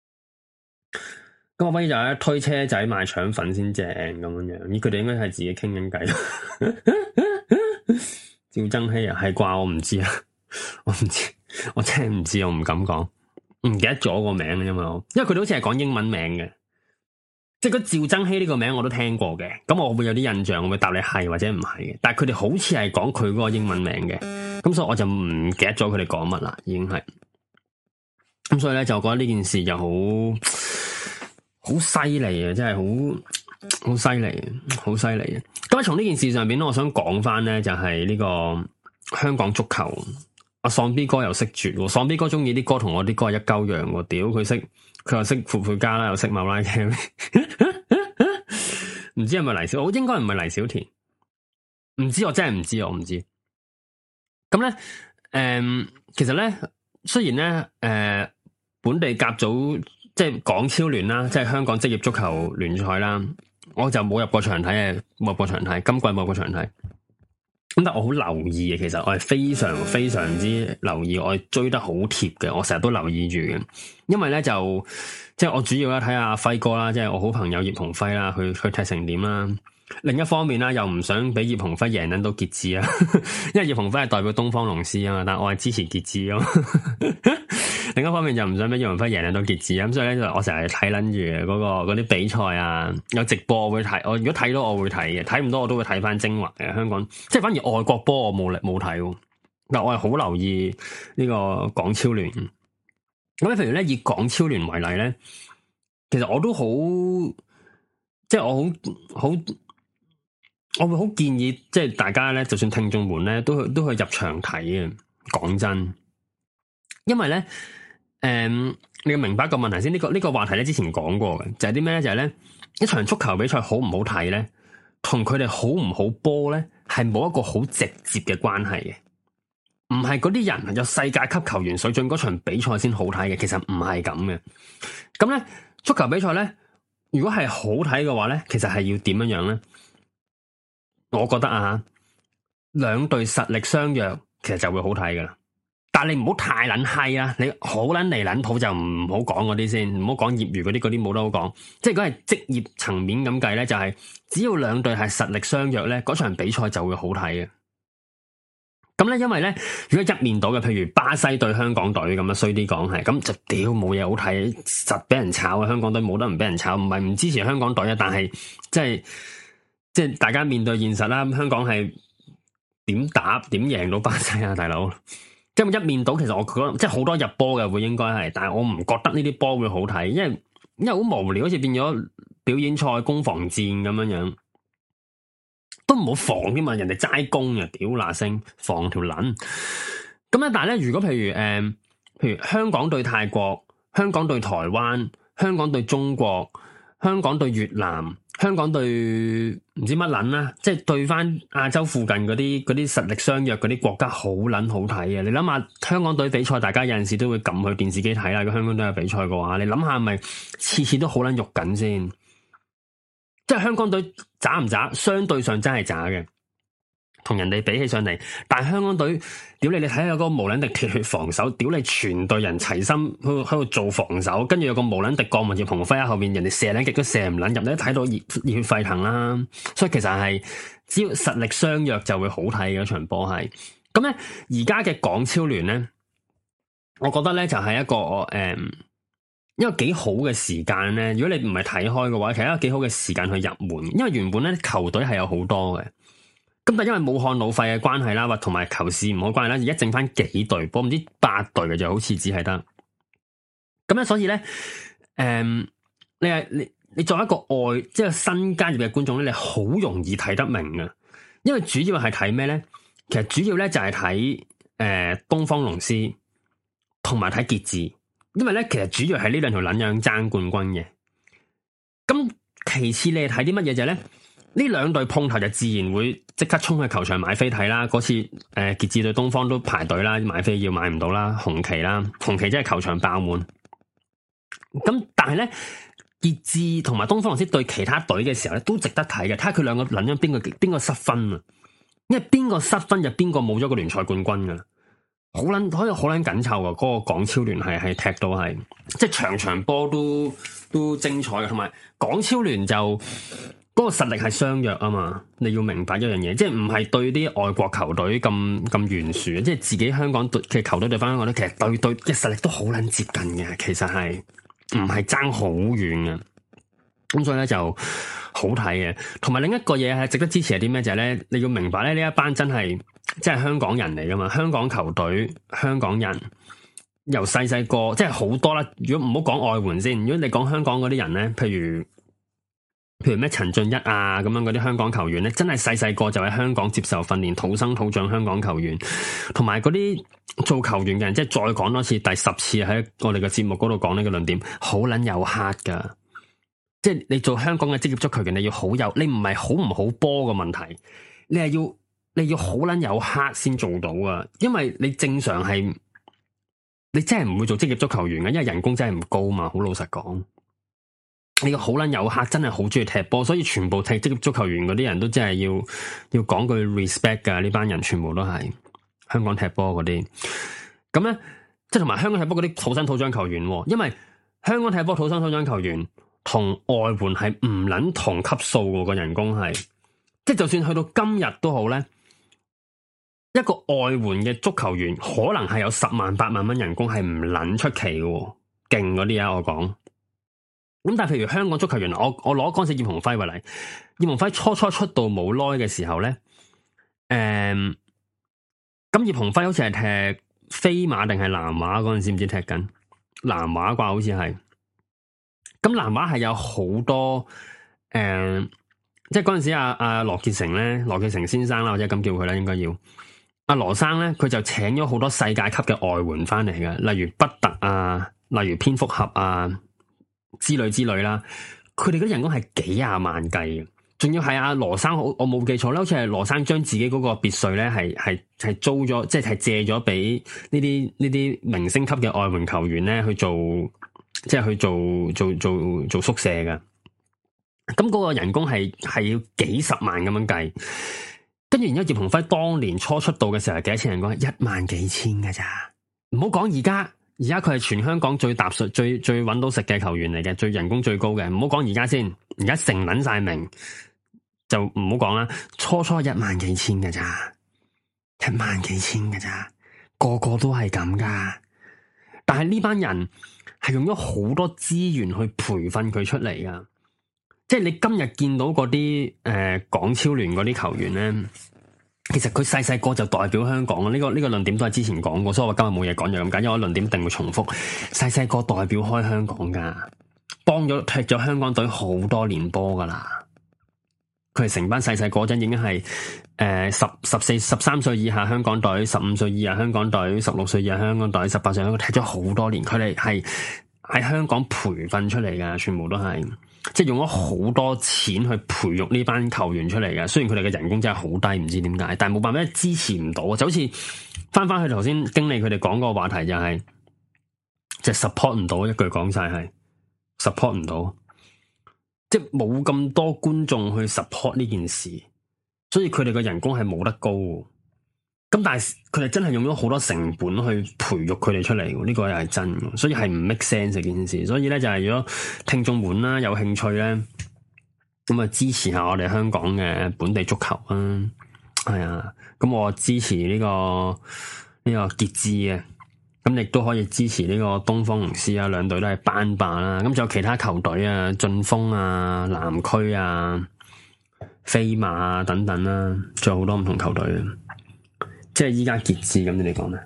咁我反而就係推車仔賣腸粉先正咁樣樣，咦？佢哋應該係自己傾緊偈。趙增熹啊，係啩？我唔知啊，我唔知。我真係唔知，我唔敢講，唔記得咗個名嘅，因為我因為佢哋好似係講英文名嘅，即係嗰趙增熹呢個名我都聽過嘅，咁我會有啲印象，我會答你係或者唔係嘅，但係佢哋好似係講佢嗰個英文名嘅，咁所以我就唔記得咗佢哋講乜啦，已經係，咁所以咧就覺得呢件事就好好犀利啊，真係好好犀利，好犀利啊！咁從呢件事上邊咧，我想講翻咧就係呢個香港足球。阿喪 B 哥又識絕，喪 B 哥中意啲歌同我啲歌係一鳩樣喎，屌佢識，佢又識傅佩嘉啦，又識馬拉 Carey，唔知係咪黎小，我應該唔係黎小田，唔知我真係唔知，我唔知。咁咧，誒、呃，其實咧，雖然咧，誒、呃，本地甲組即係港超聯啦，即係香港職業足球聯賽啦，我就冇入過場睇嘅，冇入過場睇，今季冇入過場睇。咁但我好留意嘅，其實我係非常非常之留意，我係追得好貼嘅，我成日都留意住嘅。因為咧就即係我主要咧睇下輝哥啦，即係我好朋友葉鴻輝啦，佢佢踢成點啦。另一方面啦，又唔想俾葉鴻輝贏捻到傑志啊，因為葉鴻輝係代表東方龍獅啊嘛，但係我係支持傑志啊。另一方面就唔想俾葉鴻輝贏捻到傑志啊，咁所以咧就我成日睇捻住嘅嗰個嗰啲比賽啊，有直播我會睇，我如果睇到我會睇嘅，睇唔到我都會睇翻精華嘅。香港即係反而外國波我冇力冇睇，但我係好留意呢個港超聯。咁咧，譬如咧以港超聯為例咧，其實我都好即係我好好。 我會好建議，即係大家咧，就算聽眾們咧，都去都去入場睇嘅。講真，因為咧，誒、嗯，你要明白一個問題先。呢、這個呢、這個話題咧，之前講過嘅，就係啲咩咧？就係、是、咧，一場足球比賽好唔好睇咧，同佢哋好唔好波咧，係冇一個好直接嘅關係嘅。唔係嗰啲人有世界級球員水準嗰場比賽先好睇嘅，其實唔係咁嘅。咁咧，足球比賽咧，如果係好睇嘅話咧，其實係要點樣樣咧？我覺得啊，兩隊實力相若，其實就會好睇噶啦。但係你唔好太撚閪啊！你好撚離撚譜就唔好講嗰啲先，唔好講業餘嗰啲，嗰啲冇得好講。即係如果係職業層面咁計咧，就係、是、只要兩隊係實力相若咧，嗰場比賽就會好睇嘅。咁咧，因為咧，如果一面倒嘅，譬如巴西對香港隊咁樣，衰啲講係，咁就屌冇嘢好睇，實俾人炒啊！香港隊冇得唔俾人炒，唔係唔支持香港隊啊，但係即係。即係大家面對現實啦，香港係點打點贏到巴西啊，大佬！即係一面倒，其實我覺得即係好多入波嘅會應該係，但係我唔覺得呢啲波會好睇，因為因為好無聊，好似變咗表演賽攻防戰咁樣樣，都唔好防添嘛，人哋齋攻啊，屌嗱聲防條撚。咁咧，但係咧，如果譬如誒、呃，譬如香港對泰國、香港對台灣、香港對中國、香港對越南。香港對唔知乜撚啦，即係對翻亞洲附近嗰啲嗰啲實力相若嗰啲國家好撚好睇嘅。你諗下香港隊比賽，大家有陣時都會撳去電視機睇啦。如果香港隊有比賽嘅話，你諗下係咪次次都好撚肉緊先？即係香港隊渣唔渣？相對上真係渣嘅，同人哋比起上嚟。但係香港隊，屌你！你睇下嗰個無撚敵鐵血防守，屌你全隊人齊心喺喺度做防守，跟住有個無撚敵國民葉鴻輝喺後面，人哋射撚極都射唔撚入，你都睇到熱熱血沸騰啦。所以其實係只要實力相若就會好睇嘅一場波係。咁咧而家嘅港超聯咧，我覺得咧就係一個誒、嗯、一個幾好嘅時間咧。如果你唔係睇開嘅話，其實一個幾好嘅時間去入門，因為原本咧球隊係有好多嘅。咁但因為武漢老廢嘅關係啦，或同埋球市唔好關係啦，而家剩翻幾隊波，唔知八隊嘅就好似只係得。咁咧，所以咧，誒、嗯，你係你你作為一個外即係新加入嘅觀眾咧，你好容易睇得明嘅，因為主要係睇咩咧？其實主要咧就係睇誒東方龍獅同埋睇傑志，因為咧其實主要係呢兩條撚樣爭冠軍嘅。咁其次你係睇啲乜嘢就係咧？呢兩隊碰頭就自然會即刻衝去球場買飛睇啦。嗰次誒傑志對東方都排隊啦，買飛要買唔到啦，紅旗啦，紅旗真係球場爆滿。咁但係咧傑志同埋東方龍獅對其他隊嘅時候咧都值得睇嘅，睇下佢兩個諗緊邊個邊個失分啊？因為邊個失分就邊個冇咗個聯賽冠軍噶，好捻可以好捻緊湊噶。嗰、那個港超聯係係踢到係即係場場波都都精彩嘅，同埋港超聯就。嗰個實力係相若啊嘛，你要明白一樣嘢，即係唔係對啲外國球隊咁咁懸殊，即係自己香港隊嘅球隊對翻香港隊，其實對對嘅實力都好撚接近嘅，其實係唔係爭好遠嘅，咁所以咧就好睇嘅。同埋另一個嘢係值得支持係啲咩？就係咧，你要明白咧，呢一班真係即係香港人嚟噶嘛，香港球隊、香港人由細細個即係好多啦。如果唔好講外援先，如果你講香港嗰啲人咧，譬如。譬如咩陳俊一啊咁樣嗰啲香港球員咧，真係細細個就喺香港接受訓練，土生土長香港球員，同埋嗰啲做球員嘅人，即係再講多次，第十次喺我哋嘅節目嗰度講呢個論點，好捻有黑噶，即係你做香港嘅職業足球員，你要好有，你唔係好唔好波嘅問題，你係要你要好捻有黑先做到啊，因為你正常係你真係唔會做職業足球員嘅，因為人工真係唔高嘛，好老實講。你個好撚有客，真係好中意踢波，所以全部踢職業足球員嗰啲人都真係要要講句 respect 噶，呢班人全部都係香港踢波嗰啲。咁咧，即係同埋香港踢波嗰啲土生土長球員，因為香港踢波土生土長球員同外援係唔撚同級數嘅，個人工係，即係就算去到今日都好咧，一個外援嘅足球員可能係有十萬八萬蚊人工，係唔撚出奇嘅，勁嗰啲啊，我講。咁但係譬如香港足球員，我我攞嗰陣時葉鴻輝為例，葉鴻輝初初出道冇耐嘅時候咧，誒、嗯，咁葉鴻輝好似係踢飛馬定係南華嗰陣時，唔知踢緊南華啩，好似係。咁南華係有好多誒、嗯， 即係嗰陣時阿阿羅傑成咧，羅傑成先生啦，或者咁叫佢啦，應該要阿羅生咧，佢就請咗好多世界級嘅外援翻嚟嘅，例如畢特啊，例如蝙蝠俠啊之類之類啦。佢哋嗰啲人工係幾廿萬計嘅，仲要係阿羅生，我我冇記錯咧，好似係羅生將自己嗰個別墅咧，係係係租咗，即係係借咗俾呢啲呢啲明星級嘅外援球員咧去做，即係去做做做做宿舍嘅。咁嗰個人工係係要幾十萬咁樣計，跟住然之後葉鴻輝當年初出道嘅時候係幾多錢人工？一萬幾千㗎咋，唔好講而家。而家佢係全香港最踏實、最最揾到食嘅球員嚟嘅，最人工最高嘅。唔好講而家先，而家成撚晒名就唔好講啦。初初一萬幾千㗎咋，一萬幾千㗎咋，個個都係咁噶。但係呢班人係用咗好多資源去培訓佢出嚟噶，即係你今日見到嗰啲誒港超聯嗰啲球員咧。其實佢細細個就代表香港啊！呢個呢個論點都係之前講過，所以我今日冇嘢講就咁解，因為我論點一定會重複。細細個代表開香港噶，幫咗踢咗香港隊好多年波噶啦。佢係成班細細個陣已經係誒十十四十三歲以下香港隊，十五歲以下香港隊，十六歲以下香港隊，十八歲香港踢咗好多年。佢哋係喺香港培訓出嚟噶，全部都係。即係用咗好多錢去培育呢班球員出嚟嘅，雖然佢哋嘅人工真係好低，唔知點解，但係冇辦法支持唔到，就好似翻翻去頭先經理佢哋講個話題就係、是，就 support 唔到，一句講晒係 support 唔到，即係冇咁多觀眾去 support 呢件事，所以佢哋嘅人工係冇得高。咁但係佢哋真係用咗好多成本去培育佢哋出嚟，呢、這個又係真，所以係唔 make sense 嘅件事。所以咧就係如果聽眾們啦有興趣咧，咁啊支持下我哋香港嘅本地足球啊，係啊，咁我支持呢、這個呢、這個傑志嘅，咁亦都可以支持呢個東方龍獅啊，兩隊都係班霸啦。咁仲有其他球隊啊，晉峰啊、南區啊、飛馬啊等等啦，仲有好多唔同球隊啊。即係依家傑志咁，你哋講咧，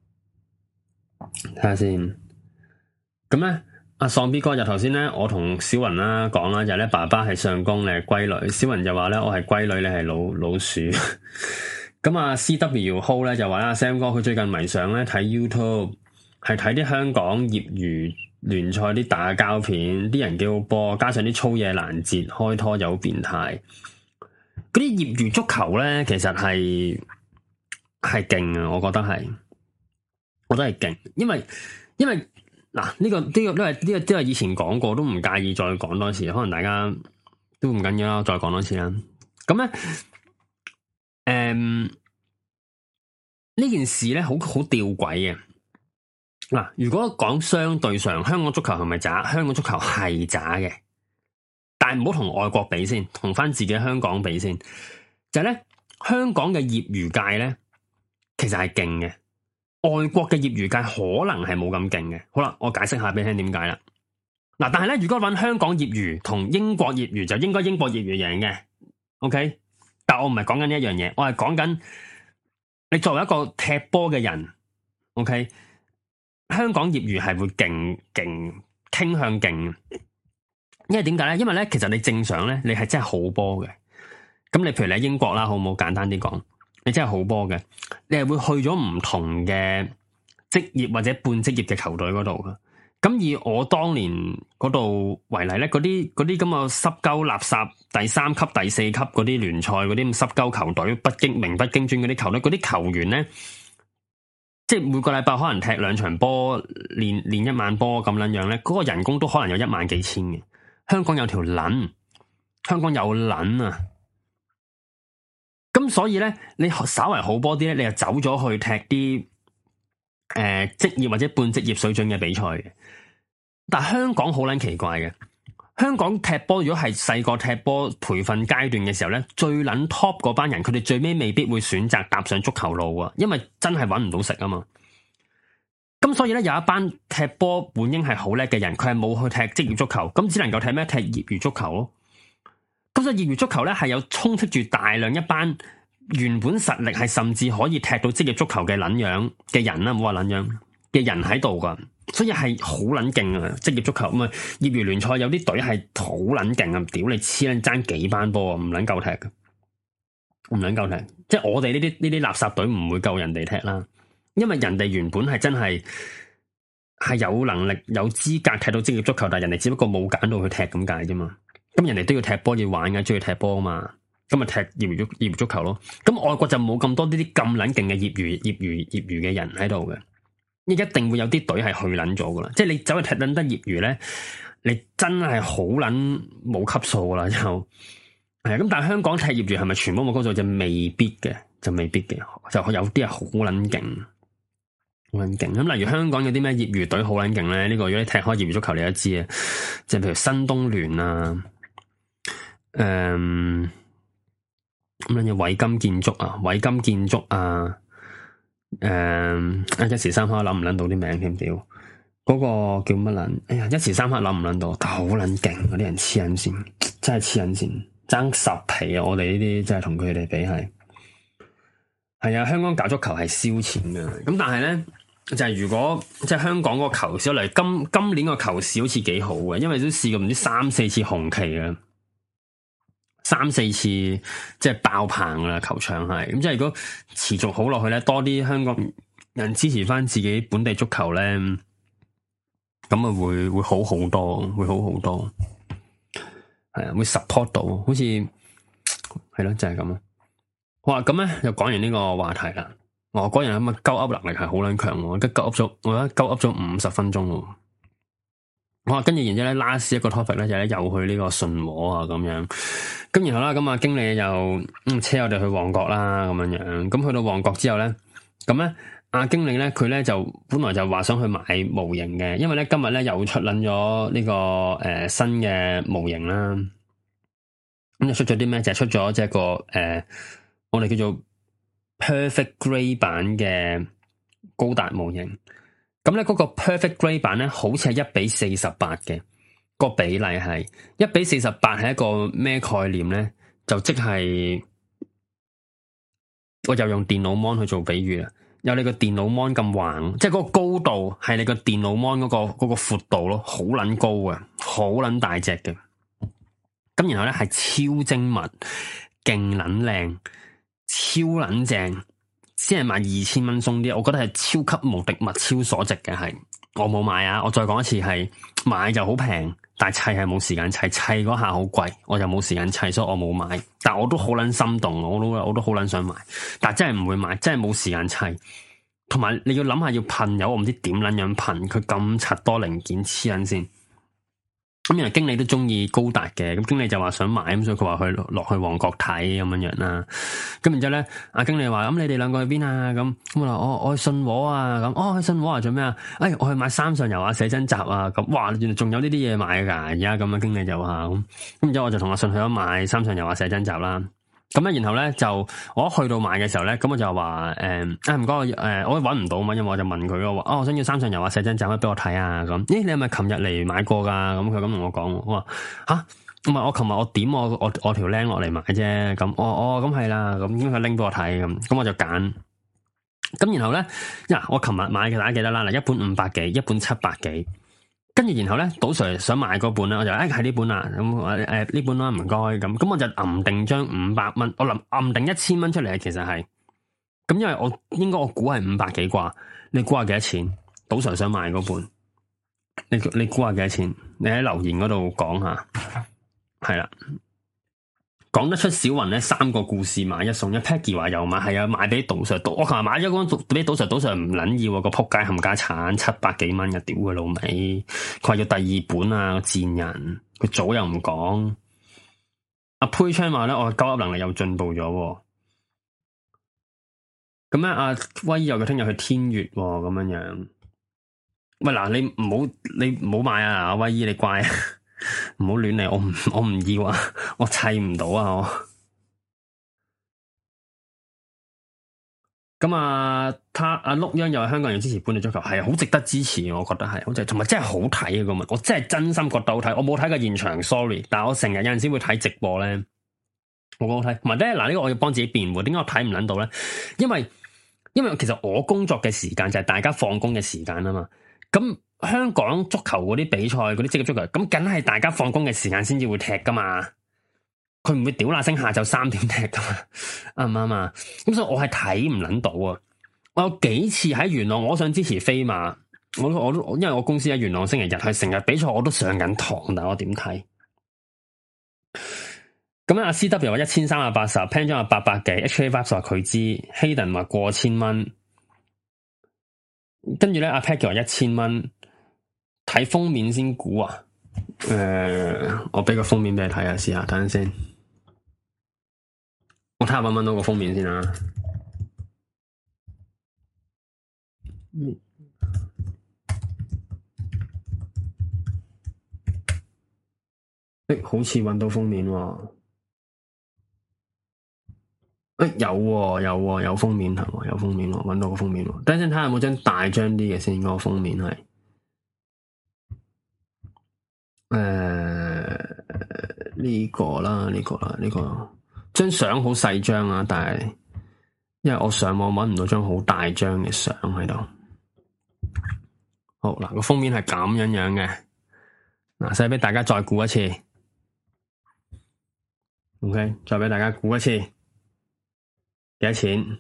睇下先。咁咧，阿喪 B 哥就頭先咧，我同小雲啦講啦，就咧、是、爸爸係相公，你係龜女。小雲就話咧，我係龜女，你係老老鼠。咁啊，C W Ho 咧就話啦，Sam 哥佢最近迷上咧睇 YouTube，係睇啲香港業餘聯賽啲打交片，啲人幾好波，加上啲粗野攔截，開拖又好變態。嗰啲業餘足球咧，其實係。係勁啊！我覺得係，我覺得係勁，因為因為嗱呢、這個呢、這個都係呢個都係以前講過，都唔介意再講多次，可能大家都唔緊要啦，再講多次啦。咁咧，誒、嗯、呢件事咧好好吊詭嘅。嗱，如果講相對上，香港足球係咪渣？香港足球係渣嘅，但係唔好同外國比先，同翻自己香港比先，就係、是、咧香港嘅業餘界咧。其實係勁嘅，外國嘅業餘界可能係冇咁勁嘅。好啦，我解釋下俾你聽點解啦。嗱，但係咧，如果揾香港業餘同英國業餘，就應該英國業餘贏嘅。OK，但我唔係講緊呢一樣嘢，我係講緊你作為一個踢波嘅人。OK，香港業餘係會勁勁傾向勁，因為點解咧？因為咧，其實你正常咧，你係真係好波嘅。咁你譬如你喺英國啦，好唔好？簡單啲講。你真係好波嘅，你係會去咗唔同嘅職業或者半職業嘅球隊嗰度噶。咁以我當年嗰度為例咧，嗰啲嗰啲咁嘅濕鳩垃圾第三級、第四級嗰啲聯賽嗰啲咁濕鳩球隊，不經名不經傳嗰啲球隊，嗰啲球員咧，即係每個禮拜可能踢兩場波，練練一晚波咁樣樣咧，嗰個人工都可能有一萬幾千嘅。香港有條撚，香港有撚啊！咁所以咧，你稍為好波啲咧，你就走咗去踢啲誒職業或者半職業水準嘅比賽嘅。但係香港好撚奇怪嘅，香港踢波如果係細個踢波培訓階段嘅時候咧，最撚 top 嗰班人，佢哋最尾未必會選擇踏上足球路啊，因為真係搵唔到食啊嘛。咁所以咧，有一班踢波本應係好叻嘅人，佢係冇去踢職業足球，咁只能夠踢咩？踢業餘足球咯。咁所以業餘足球咧係有充斥住大量一班原本實力係甚至可以踢到職業足球嘅撚樣嘅人啦，唔好話撚樣嘅人喺度噶。 所以係好撚勁啊！職業足球咁啊，業餘聯賽有啲隊係好撚勁啊！屌你黐撚爭幾班波啊，唔撚夠踢嘅，唔撚夠踢。即係我哋呢啲呢啲垃圾隊唔會夠人哋踢啦，因為人哋原本係真係係有能力有資格踢到職業足球，但係人哋只不過冇揀到去踢咁解啫嘛。咁人哋都要踢波要玩嘅，中意踢波啊嘛。咁咪踢業餘足業餘足球咯。咁外國就冇咁多呢啲咁撚勁嘅業餘業餘業餘嘅人喺度嘅。一定會有啲隊係去撚咗噶啦，即係你走去踢撚得業餘咧，你真係好撚冇級數噶啦，就係咁。但係香港踢業餘係咪全部冇級數就未必嘅，就未必嘅，就有啲係好撚勁，好撚勁。咁例如香港有啲咩業餘隊好撚勁咧？呢、這個如果你踢開業餘足球，你都知啊，即係譬如新東聯啊，誒咁樣嘅偉金建築啊，偉金建築啊。誒、嗯，一時三刻諗唔諗到啲名添，屌，嗰、那個叫乜撚？哎呀，一時三刻諗唔諗到，但好撚勁，嗰啲人黐撚線，真係黐撚線，爭十皮啊！我哋呢啲真係同佢哋比係，係啊，香港搞足球係燒錢嘅，咁但係咧就係、是、如果即係香港個球市嚟，今今年個球市好似幾好嘅，因為都試過唔知三四次紅旗啊。三四次即係爆棚啦，球場係咁，即係如果持續好落去咧，多啲香港人支持翻自己本地足球咧，咁啊會會好好多，會好好多，係啊，會 support 到，好似係咯，就係咁咯。好啊，咁咧又講完呢個話題啦。我嗰人咁啊，鳩噏能力係好撚強，我而家鳩噏咗，我而家鳩噏咗五十分鐘咯。我跟住然之後咧，last 一個 topic 咧就咧又去呢個信和啊咁樣，咁然後啦，咁啊經理又嗯車我哋去旺角啦咁樣樣，咁去到旺角之後咧，咁咧阿經理咧佢咧就本來就話想去買模型嘅，因為咧今日咧又出撚咗呢個誒、呃、新嘅模型啦，咁就出咗啲咩？就係、是、出咗即係個誒、呃、我哋叫做 Perfect Grey 版嘅高達模型。咁咧嗰個 Perfect Grey 版咧，好似係一比四十八嘅個比例係一比四十八，係一個咩概念咧？就即係我又用電腦 mon 去做比喻啦，有你個電腦 mon 咁橫，即係嗰個高度係你個電腦 mon 嗰個嗰個闊度咯，好撚高嘅，好撚大隻嘅。咁然後咧係超精密、勁撚靚、超撚正。先係賣二千蚊鬆啲，我覺得係超級無敵物超所值嘅，係我冇買啊！我再講一次，係買就好平，但係砌係冇時間砌，砌嗰下好貴，我就冇時間砌，所以我冇買。但我都好撚心動，我都我都好撚想買，但係真係唔會買，真係冇時間砌。同埋你要諗下要噴油，我唔知點撚樣噴，佢咁柒多零件黐撚先。咁原來經理都中意高達嘅，咁經理就話想買，咁所以佢話去落去旺角睇咁樣樣啦。咁然之後咧，阿經理話：咁你哋兩個去邊啊？咁咁我話：我我去信和啊。咁哦，去信和啊，做咩啊？哎，我去買三上悠亞寫真集啊。咁哇，原來仲有呢啲嘢買噶。而家咁啊，經理就話咁。咁然之後我就同阿信去咗買三上悠亞寫真集啦。咁咧，然後咧就我一去到買嘅時候咧，咁我就話誒，啊唔該，誒、呃，我搵唔到嘛，因為我就問佢咯，話哦，我想要三上悠亞寫真集，可以俾我睇啊？咁，咦，你係咪琴日嚟買過噶？咁佢咁同我講，我話吓，唔係我琴日我點我我我條僆落嚟買啫，咁，哦哦，咁係啦，咁應該佢拎俾我睇，咁，咁我就揀，咁然後咧，呀，我琴日買嘅大家記得啦，嗱，一本五百幾，一本七百幾。跟住然後咧，賭 Sir 想買嗰本咧，我就誒係呢本啦，咁誒誒呢本啦，唔該咁，咁我就揞定張五百蚊，我諗揞定一千蚊出嚟，其實係，咁因為我應該我估係五百幾啩，你估下幾多錢？賭 Sir 想買嗰本，你你估下幾多錢？你喺留言嗰度講下，係啦。講得出小雲咧，三個故事買一送一。Peggy 話又買，係啊，買俾賭 Sir。我琴日買咗嗰本俾賭 Sir，賭 Sir 唔捻要啊，個仆街冚家鏟七百幾蚊嘅，屌佢老味。佢話要第二本啊，個賤人，佢早又唔講。阿佩昌話咧，我鳩噏能力又進步咗。咁咧，阿威又佢聽日去天悦咁樣樣。喂嗱，你唔好你唔好買啊，阿威姨你乖啊。唔好亂嚟，我唔我唔要啊，我砌唔到啊我。咁啊，他阿碌央又係香港人支持本地足球，係好值得支持，我覺得係，好值，同埋真係好睇啊個物，我真係真心覺得好睇。我冇睇過現場 ，sorry，但係我成日有陣時會睇直播咧，我覺得好睇。同埋咧，嗱呢個我要幫自己辯護，點解我睇唔捻到咧？因為因為其實我工作嘅時間就係大家放工嘅時間啊嘛，咁。 香港足球嗰啲比賽，嗰啲職業足球，咁梗係大家放工嘅時間先至會踢噶嘛。佢唔會屌那聲下晝三點踢噶嘛，啱唔啱啊？咁所以我係睇唔捻到啊！我有幾次喺元朗，我想支持飛馬，我我都因為我公司喺元朗星期日係成日比賽，我都上緊堂，但我點睇？咁阿 C W 話一千三百八十 ，Pan 張話八百幾 ，H A Vibes 話佢知，Hayden 話過千蚊，跟住咧阿 Pat 話一千蚊，睇封面先估啊！誒、呃，我俾個封面俾你睇下，試下等陣先，我睇下搵唔搵到個封面先啊！誒、欸，好似搵到封面喎。誒、欸，有喎、啊，有喎、啊，有封面係嘛？有封面喎，搵到個封面喎。等陣先睇下有冇張大張啲嘅先，嗰個封面係。誒，呢個啦，呢個啦，呢個張相好細張啊，但係因為我上網搵唔到張好大張嘅相喺度。好嗱，個封面係咁樣樣嘅。嗱，使俾大家再估一次。OK，再俾大家估一次。幾多錢？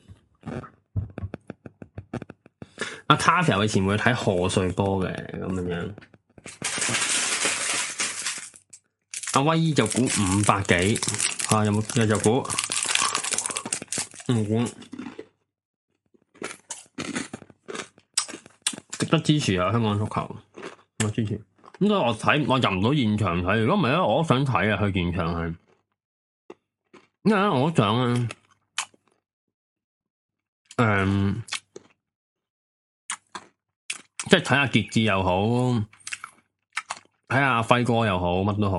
阿 Taffy 以前會睇賀歲波嘅咁樣樣，阿威姨就估五百幾，啊有冇有就估唔估？值得支持啊！香港足球，我支持。咁所以我睇我入唔到現場睇，如果唔係咧，我都想睇啊！去現場係，因為咧我都想啊。誒、嗯，即係睇下傑志又好，睇下阿輝哥又好，乜都好。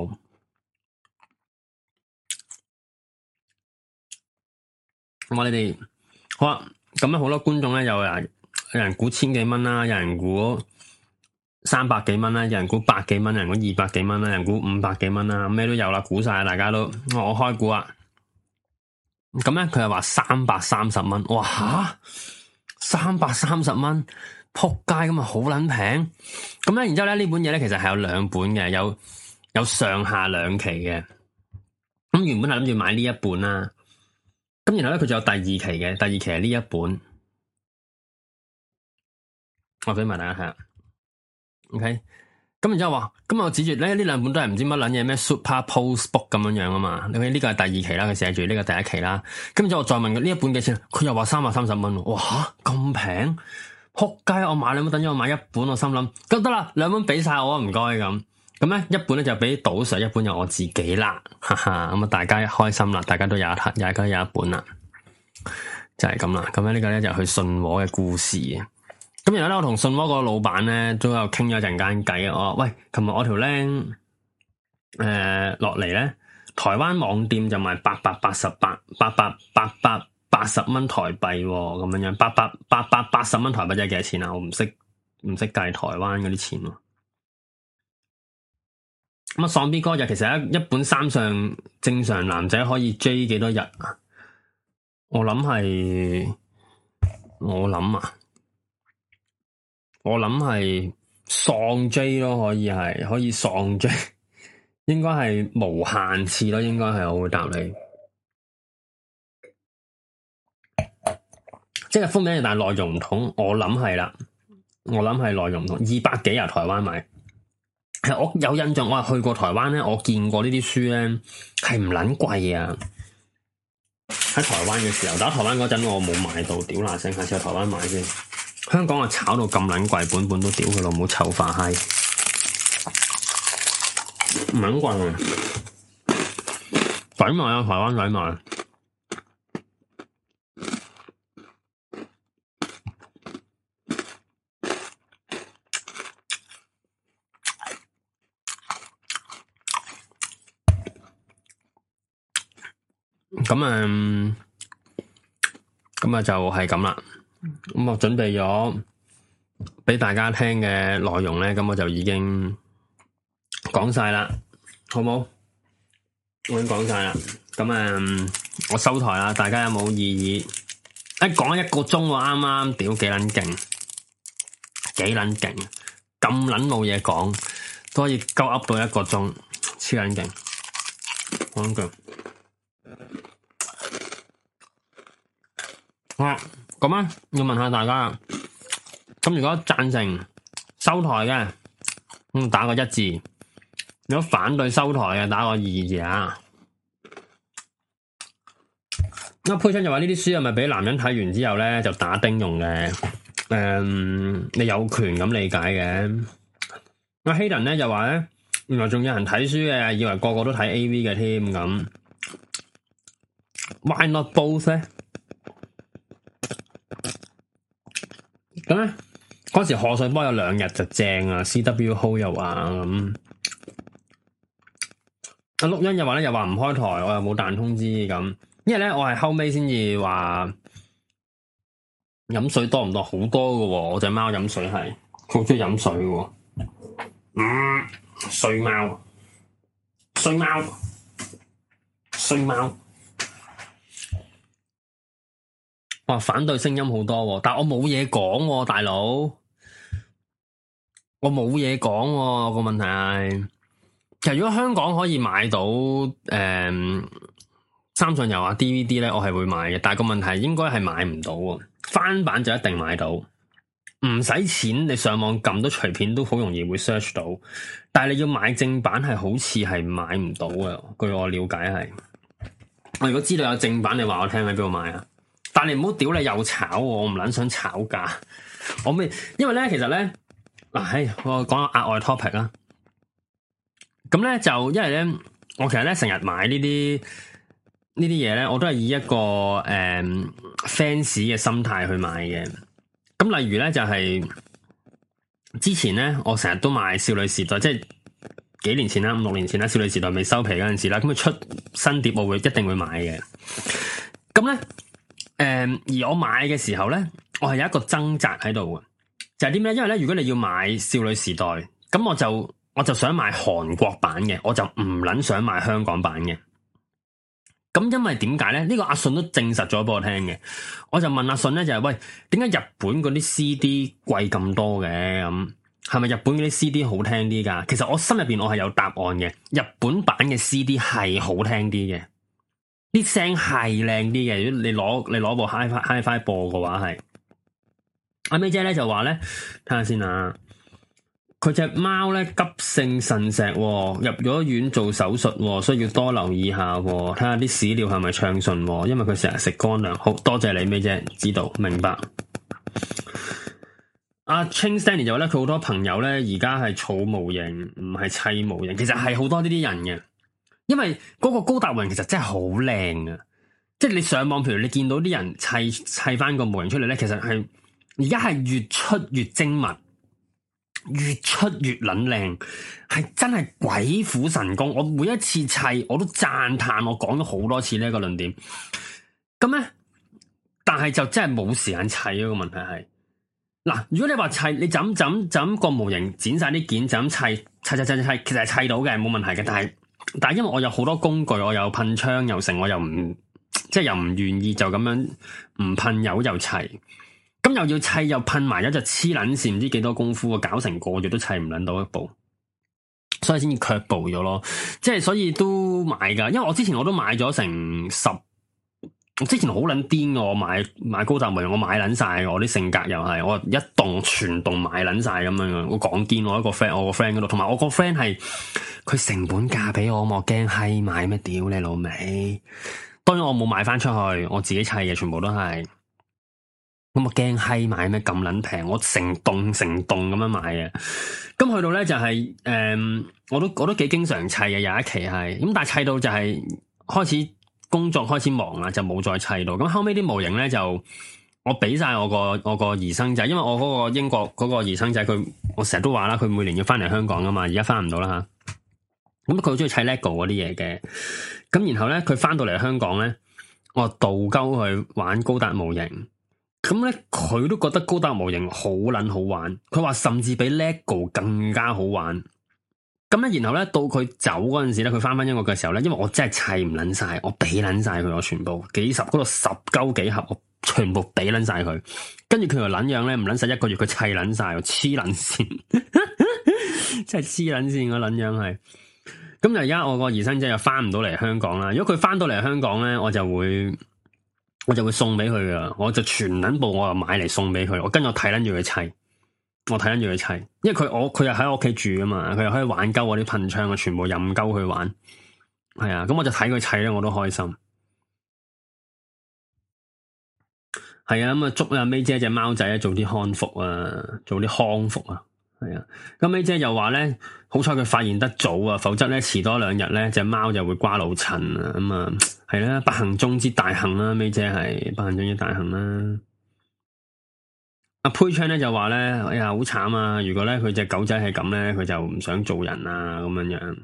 咁啊，你哋好啊，咁樣好多觀眾咧，有人有人估千幾蚊啦，有人估三百幾蚊啦，有人估百幾蚊，有人估二百幾蚊啦，有人估五百幾蚊啦，咩都有啦，估晒，大家都我開估啊！咁咧，佢又話三百三十蚊，哇吓，三百三十蚊，撲街咁啊，好撚平。咁咧，然之後咧，呢本嘢咧，其實係有兩本嘅，有有上下兩期嘅。咁原本係諗住買呢一本啦，咁然後咧，佢仲有第二期嘅，第二期係呢一本，我俾埋大家睇下。OK。咁然之後話，咁我指住咧呢兩本都係唔知乜撚嘢咩 Super Post Book 咁樣樣啊嘛，你睇呢個係第二期啦，佢寫住呢個第一期啦。咁然之後我再問佢呢一本幾錢，佢又話三百三十蚊，哇吓咁平，撲街！我買兩本，等咗我買一本，我心諗咁得啦，兩本俾晒我唔該咁。咁咧一本咧就俾賭 Sir，一本有我自己啦，哈哈。咁啊大家開心啦，大家都有一睇，大家有一本啦，就係咁啦。咁咧呢個咧就去信和嘅故事。咁然後咧，我同信和個老闆咧都有傾咗一陣間偈啊！我話喂，琴日我條僆誒落嚟咧，台灣網店就賣八百八十八八百八百八十蚊台幣咁樣樣，八百八百八十蚊台幣即係幾多錢啊？我唔識唔識計台灣嗰啲錢喎。咁啊，喪 B 哥就其實一一本三上正常男仔可以追幾多日啊？我諗係我諗啊。我諗係喪 J 咯，可以係可以喪 J，應該係無限次咯，應該係我會答你。即係封面，但係內容唔同，我諗係啦，我諗係內容唔同。二百幾啊，台灣買，係我有印象，我係去過台灣咧，我見過呢啲書咧係唔撚貴啊。喺台灣嘅時候，打台灣嗰陣我冇買到，屌嗱聲，下次去台灣買先。香港啊，炒到咁撚貴，本本都屌佢老母臭化閪，唔撚貴啊！抵買啊，台灣抵買。咁啊，咁啊就係咁啦。咁我準備咗俾大家聽嘅內容咧，咁我就已經講晒啦，好冇？我已經講晒啦。咁啊，我收台啦，大家有冇異議？一講一個鐘喎，啱啱屌幾撚勁，幾撚勁！ 咁撚冇嘢講，都可以鳩噏到一個鐘，黐撚勁，好撚勁。好啦，咁啊，要問下大家啦。咁如果贊成收台嘅，咁打個一字；如果反對收台嘅，打個二字啊。阿佩春就話呢啲書係咪俾男人睇完之後咧就打丁用嘅？誒、嗯，你有權咁理解嘅。阿希頓咧就話咧，原來仲有人睇書嘅，以為個個都睇 A V 嘅添咁。Why not both 咧？咁咧嗰時賀歲波有兩日就正啊 ，C W Hold 又話咁。阿陸欣又話咧，又話唔開台，我又冇彈通知咁。因為咧，我係後尾先至話飲水多唔多，好多㗎喎。我隻貓飲水係好中意飲水㗎。嗯，衰貓，衰貓，衰貓。哇，反對聲音好多，但我冇嘢講，大佬，我冇嘢講。個問題係，其實如果香港可以買到誒。嗯三上游啊 D V D 咧，我係會買嘅，但係個問題應該係買唔到喎。翻版就一定買到，唔使錢，你上網撳到隨便都好容易會 search 到。但係你要買正版係好似係買唔到嘅，據我了解係。我如果知道有正版，你話我聽喺邊度買啊？但係你唔好屌你又炒我，我唔撚想炒價。我咩？因為咧，其實咧，嗱，係我講個額外 topic 啦。咁咧就因為咧，我其實咧成日買呢啲。呢啲嘢咧，我都係以一個誒、嗯、fans 嘅心態去買嘅。咁例如咧，就係、是、之前咧，我成日都買少女時代，即係幾年前啦，五六年前啦，少女時代未收皮嗰陣時啦，咁佢出新碟，我會一定會買嘅。咁咧，誒、嗯，而我買嘅時候咧，我係有一個掙扎喺度嘅，就係啲咩？因為咧，如果你要買少女時代，咁我就我就想買韓國版嘅，我就唔撚想買香港版嘅。咁因為點解咧？呢、這個阿信都證實咗俾我聽嘅。我就問阿信咧，就係、是、喂，點解日本嗰啲 C D 貴咁多嘅？咁係咪日本嗰啲 C D 好聽啲噶？其實我心入邊我係有答案嘅。日本版嘅 C D 係好聽啲嘅，啲聲係靚啲嘅。如果你攞你攞部 Hi-Fi Hi-Fi 播嘅話，係阿 May 姐咧就話咧，睇下先啊。佢隻貓咧急性腎石、哦，入咗院做手術、哦，所以要多留意下、哦，睇下啲屎尿係咪暢順、哦。因為佢成日食乾糧。好多謝你咩啫？知道明白。阿 Ching Stanley 就話咧，佢好多朋友咧而家係儲模型，唔係砌模型。其實係好多呢啲人嘅，因為嗰個高達模型其實真係好靚啊！即係你上網，譬如你見到啲人砌砌翻個模型出嚟咧，其實係而家係越出越精密。越出越撚靚，係真係鬼斧神工。我每一次砌，我都讚嘆。我講咗好多次呢一個論點。咁咧，但係就真係冇時間砌咯。個問題係，嗱，如果你話砌，你就咁就咁就咁個模型剪晒啲件，就咁砌砌砌砌砌，其實係砌到嘅，冇問題嘅。但係但係因為我有好多工具，我有噴槍又成，我又唔即係又唔願意就咁樣唔噴油又砌。咁又要砌又噴埋，一隻黐撚線，唔知幾多功夫啊！搞成個月都砌唔撚到一部，所以先至卻步咗咯。即係所以都買噶，因為我之前我都買咗成十，我之前好撚癲嘅，我買買高達模型，我買撚晒，我啲性格又係，我一棟全棟買撚晒咁樣嘅。我講堅，我一個 friend，我個 friend 嗰度，同埋我個 friend 係佢成本價俾我，我驚閪買咩屌你老味。當然我冇買翻出去，我自己砌嘅，全部都係。咁我驚閪買咩咁撚平，我成棟成棟咁樣買嘅。咁去到咧就係、是、誒、嗯，我都我都幾經常砌嘅，有一期係咁，但係砌到就係開始工作開始忙啦，就冇再砌到。咁後尾啲模型咧就我俾晒我個我個兒生仔，因為我嗰個英國嗰個兒生仔佢，我成日都話啦，佢每年要翻嚟香港噶嘛，而家翻唔到啦吓。咁佢好中意砌 LEGO 嗰啲嘢嘅，咁然後咧佢翻到嚟香港咧，我導鳩佢玩高達模型。咁咧，佢都覺得高達模型好撚好玩，佢話甚至比 LEGO 更加好玩。咁咧，然後咧到佢走嗰陣時咧，佢翻翻英國嘅時候咧，因為我真係砌唔撚晒，我俾撚晒佢，我全部幾十嗰度十鳩幾盒，我全部俾捻晒佢，跟住佢條捻樣咧唔捻使一個月佢砌捻晒，黐捻線，真係黐捻線個捻樣係。咁就而家我個兒生仔又翻唔到嚟香港啦。如果佢翻到嚟香港咧，我就會我就會送俾佢噶，我就全捻部我又買嚟送俾佢。我跟住我睇捻住佢砌，我睇捻住佢砌，因為佢我佢又喺我屋企住啊嘛，佢又可以玩鳩我啲噴槍啊，全部任鳩佢玩。係啊，咁我就睇佢砌咧，我都開心。係啊，咁啊祝阿 May 姐隻貓仔做啲康復啊，做啲康復啊。係啊，咁 May 姐又話咧，好彩佢發現得早啊，否則咧遲多兩日咧隻貓就會瓜老襯啊。咁啊係啦，不幸中之大幸啦，May 姐係不幸中之大幸啦。阿 Pay 咧就話咧，哎呀好慘啊！如果咧佢隻狗仔係咁咧，佢就唔想做人啊咁樣樣。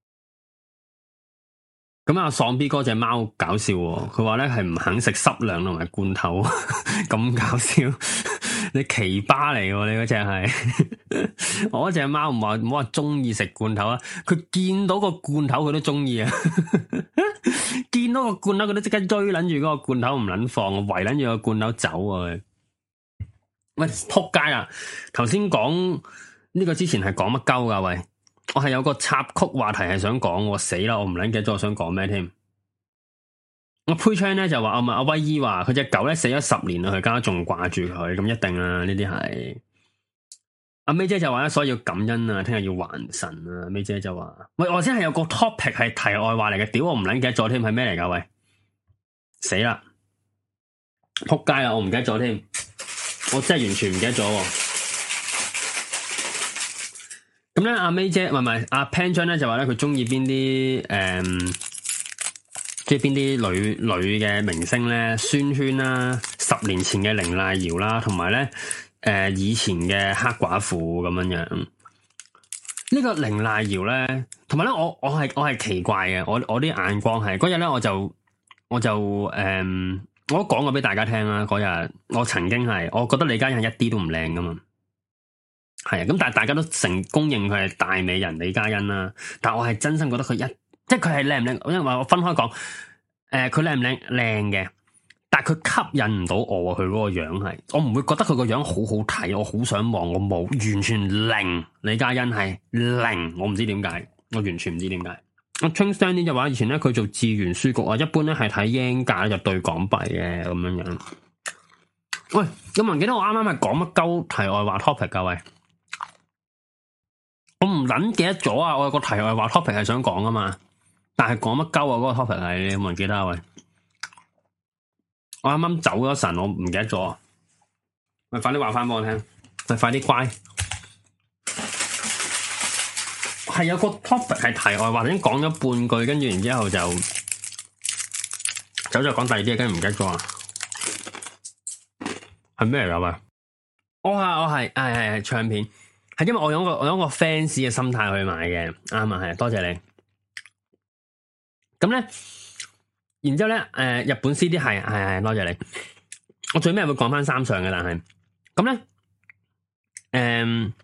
咁阿喪 B 哥隻貓搞笑，佢話咧係唔肯食濕糧同埋罐頭，咁搞笑。你奇葩嚟，你嗰隻係我嗰隻貓唔話唔好話中意食罐頭啊，佢見到個罐頭佢都中意啊，見到個罐頭佢都即刻追捻住嗰個罐頭唔捻放，圍捻住個罐頭走啊！喂，撲街啊！頭先講呢個之前係講乜鳩噶？喂，我係有個插曲話題係想講，我死啦！我唔捻記得咗我想講咩添。我 Pay 咧就話，阿阿威姨話佢隻狗咧死咗十年啦，佢家仲掛住佢，咁一定啊！呢啲係阿 May 姐就話咧，所以要感恩啊，聽日要還神啊！May 姐就話，喂，我先係有個 topic 係題外話嚟嘅，屌我唔捻記得咗添，係咩嚟噶？喂，死啦！撲街啊！我唔記得咗添，我真係完全唔記得咗。咁咧，阿 May 姐唔係唔係阿 Pan 張咧就話咧，佢中意邊啲誒。即係邊啲女女嘅明星咧？宣萱啦，十年前嘅凌麗瑤啦，同埋咧誒以前嘅黑寡婦咁樣樣。呢、這個凌麗瑤咧，同埋咧我我係我係奇怪嘅，我我啲眼光係嗰日咧我就我就誒、嗯，我都講過俾大家聽啦。嗰日我曾經係，我覺得李嘉欣係一啲都唔靚噶嘛，係啊。咁但係大家都成公認佢係大美人李嘉欣啦。但係我係真心覺得佢一。即係佢係靚唔靚？因為話我分開講，誒、呃，佢靚唔靚？靚嘅，但係佢吸引唔到我。佢嗰個樣係，我唔會覺得佢個樣好好睇，我好想望，我冇，完全零。李嘉欣係零，我唔知點解，我完全唔知點解。阿 Ching Stan 呢就話以前咧佢做志願書局啊，一般咧係睇 yen 價就對港幣嘅咁樣樣。喂，有冇人記得我啱啱係講乜鳩題外話 topic 噶？喂，我唔捻記得咗啊！我有個題外話 topic 係想講啊嘛。但係講乜鳩啊？嗰、那個 topic 係你有冇人記得啊？喂，我啱啱走咗神，我唔記得咗。喂，快啲話翻俾我聽，喂，快啲乖。係有個 topic 係題外話，已經講咗半句，跟住然之後就走咗講第二啲嘢，跟住唔記得咗啊？係咩嚟噶？喂，我係我係係係唱片，係因為我有個我有個 fans 嘅心態去買嘅，啱啊，係多謝你。咁咧，然之後咧，誒、呃，日本 C D 係係係，多謝你。我最尾會講翻三上嘅，但係咁咧，誒、嗯，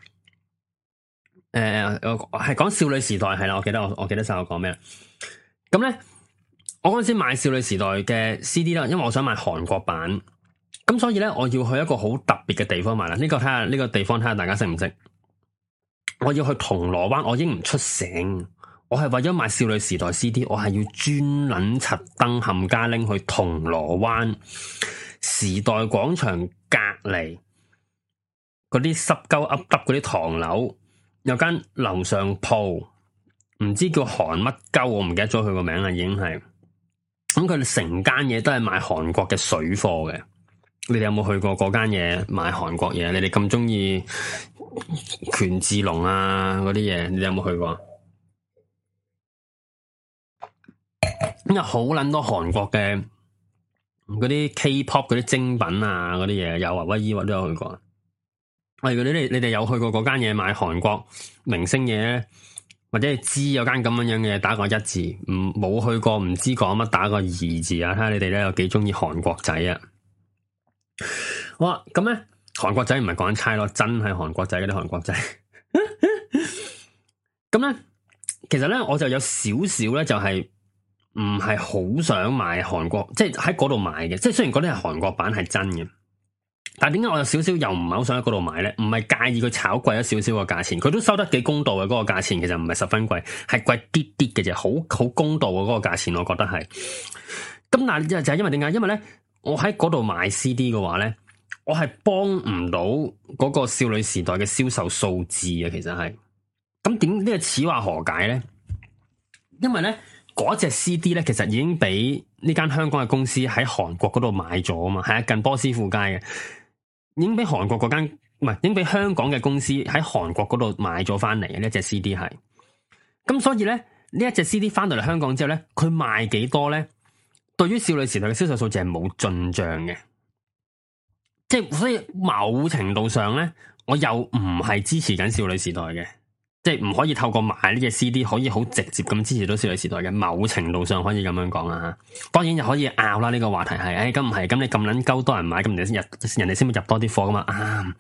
誒、呃，我係講少女時代係啦，我記得我我記得晒我講咩啦。咁咧，我嗰陣時買少女時代嘅 C D 啦，因為我想買韓國版，咁所以咧，我要去一個好特別嘅地方買啦。呢、這個睇下呢個地方睇下大家識唔識？我要去銅鑼灣，我已經唔出城。我係為咗買少女時代 C D，我係要專撚柒登冚家拎去銅鑼灣時代廣場隔籬嗰啲濕鳩噏耷嗰啲唐樓，有間樓上鋪，唔知叫韓乜鳩，我唔記得咗佢個名啦，已經係。咁佢哋成間嘢都係賣韓國嘅水貨嘅。你哋有冇去過嗰間嘢買韓國嘢？你哋咁中意權志龍啊嗰啲嘢，你哋有冇去過？咁有好捻多韓國嘅嗰啲 K-pop 嗰啲精品啊，嗰啲嘢有啊，威伊我都有去過。喂，如果你哋你哋有去過嗰間嘢買韓國明星嘢咧，或者係知有間咁樣樣嘅嘢，打個一字；唔冇去過唔知講乜，打個二字啊！睇下你哋咧有幾中意韓國仔啊！好啊，咁咧韓國仔唔係講緊差咯，真係韓國仔嗰啲韓國仔。咁咧，其實咧我就有少少咧就係、是。 唔係好想買韓國，即係喺嗰度買嘅。即係雖然嗰啲係韓國版係真嘅，但係點解我有少少又唔係好想喺嗰度買咧？唔係介意佢炒貴咗少少個價錢，佢都收得幾公道嘅嗰個價錢，其實唔係十分貴，係貴啲啲嘅啫，好好公道嘅嗰個價錢，我覺得係。咁但係就就係因為點解？因為咧，我喺嗰度買 C D 嘅話咧，我係幫唔到嗰個少女時代嘅銷售數字啊，其實係。咁點呢個此話何解咧？因為咧嗰隻 C D 咧，其實已經俾呢間香港嘅公司喺韓國嗰度買咗啊嘛，係啊，近波斯富街嘅，已經俾韓國嗰間唔係，已經俾香港嘅公司喺韓國嗰度買咗翻嚟嘅呢一隻 C D 係。咁所以咧呢一隻 C D 翻到嚟香港之後咧，佢賣幾多咧？對於少女時代嘅銷售數字係冇進賬嘅，即係所以某程度上咧，我又唔係支持緊少女時代嘅。即係唔可以透過買呢隻 C D 可以好直接咁支持到少女時代嘅，某程度上可以咁樣講啦吓。當然又可以拗啦，呢個話題係，誒咁唔係，咁你咁撚鳩多人買，咁人哋先入，人哋先會入多啲貨噶嘛。啊，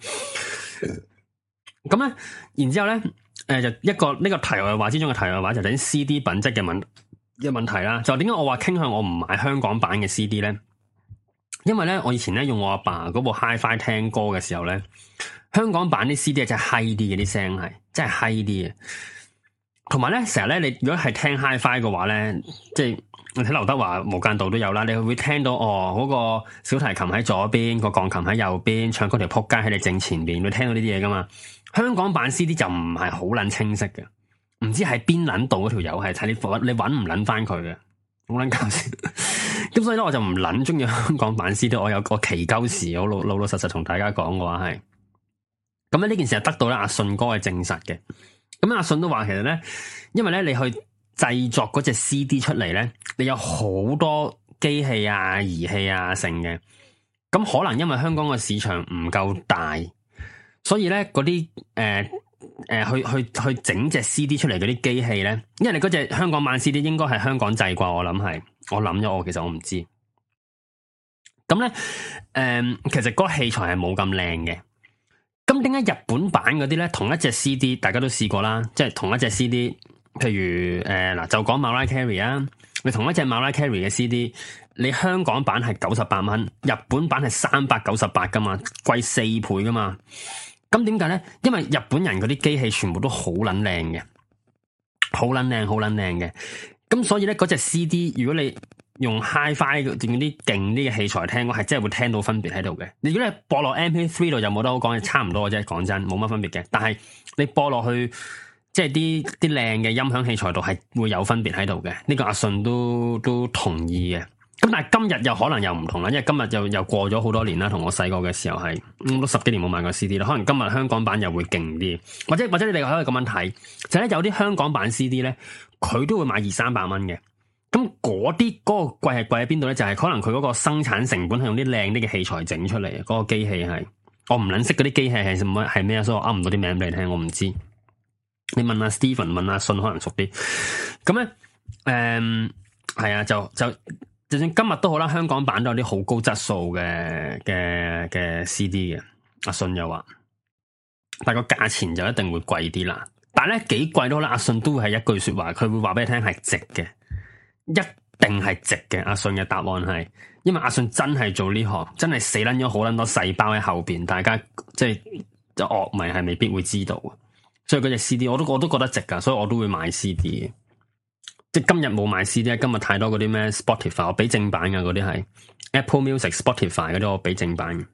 咁咧，然之後咧，誒、呃、就一個呢、這個題外話之中嘅題外話就等 C D 品質嘅問嘅問題啦。就點解我話傾向我唔買香港版嘅 C D 咧？因為咧，我以前咧用我阿爸嗰部 Hi-Fi 聽歌嘅時候咧，香港版啲 C D 係真係嗨啲嘅，啲聲係真係嗨啲嘅。同埋咧，成日咧，你如果係聽 Hi-Fi 嘅話咧，即係你睇劉德華無間道都有啦，你會聽到哦嗰、那個小提琴喺左邊，個鋼琴喺右邊，唱嗰條撲街喺你正前邊，會聽到呢啲嘢噶嘛。香港版 C D 就唔係好撚清晰嘅，唔知喺邊撚度嗰條友係睇你你揾唔撚翻佢嘅，好撚搞笑。咁所以咧，我就唔撚中意香港版 C D， 我有個奇鳩時，我老老老實實同大家講嘅話係，咁咧呢件事係得到咧阿信哥嘅證實嘅。咁阿信都話其實咧，因為咧你去製作嗰隻 C D 出嚟咧，你有好多機器啊、儀器啊成嘅，咁可能因為香港嘅市場唔夠大，所以咧嗰啲誒誒去去去整隻 C D 出嚟嗰啲機器咧，因為你嗰隻香港版 C D 應該係香港製啩，我諗係。我諗咗，我其實我唔知。咁咧，誒、嗯，其實嗰個器材係冇咁靚嘅。咁點解日本版嗰啲咧，同一隻 C D， 大家都試過啦，即係同一隻 C D，譬如誒嗱、呃，就講 Mariah Carey 啊，你同一隻 Mariah Carey 嘅 C D， 你香港版係九十八蚊，日本版係三百九十八噶嘛，貴四倍噶嘛。咁點解咧？因為日本人嗰啲機器全部都好撚靚嘅，好撚靚，好撚靚嘅。咁所以咧，嗰隻 C D 如果你用 Hi-Fi 用啲勁啲嘅器材聽，我係真係會聽到分別喺度嘅。你如果你播落 M P 三 度就冇得好講，差唔多嘅啫。講真，冇乜分別嘅。但係你播落去即係啲啲靚嘅音響器材度係會有分別喺度嘅。呢個阿信都都同意嘅。咁但係今日又可能又唔同啦，因為今日又又過咗好多年啦。同我細個嘅時候係，嗯，都十幾年冇買過 C D 啦。可能今日香港版又會勁啲，或者或者你哋可以咁樣睇，就係咧有啲香港版 C D 咧。佢都會買二三百蚊嘅，咁嗰啲嗰個貴係貴喺邊度咧？就係、是、可能佢嗰個生產成本係用啲靚啲嘅器材整出嚟嘅，嗰、那個機器係我唔撚識嗰啲機器係乜係咩，所以我噏唔到啲名俾你聽，我唔知。你問阿 Steven 問阿信可能熟啲。咁咧，誒、嗯、係啊，就就就算今日都好啦，香港版都有啲好高質素嘅嘅嘅 C D 嘅。阿信又話，但係個價錢就一定會貴啲啦。但係咧幾貴都好啦，阿信都會係一句說話，佢會話俾你聽係值嘅，一定係值嘅。阿信嘅答案係，因為阿信真係做呢行，真係死捻咗好捻多細胞喺後邊，大家即係就樂迷係未必會知道，所以嗰隻 C D 我都我都覺得值噶，所以我都會買 C D 嘅。即係今日冇買 C D， 今日太多嗰啲咩 Spotify， 我俾正版嘅嗰啲係 Apple Music、Spotify 嗰啲，我俾正版嘅。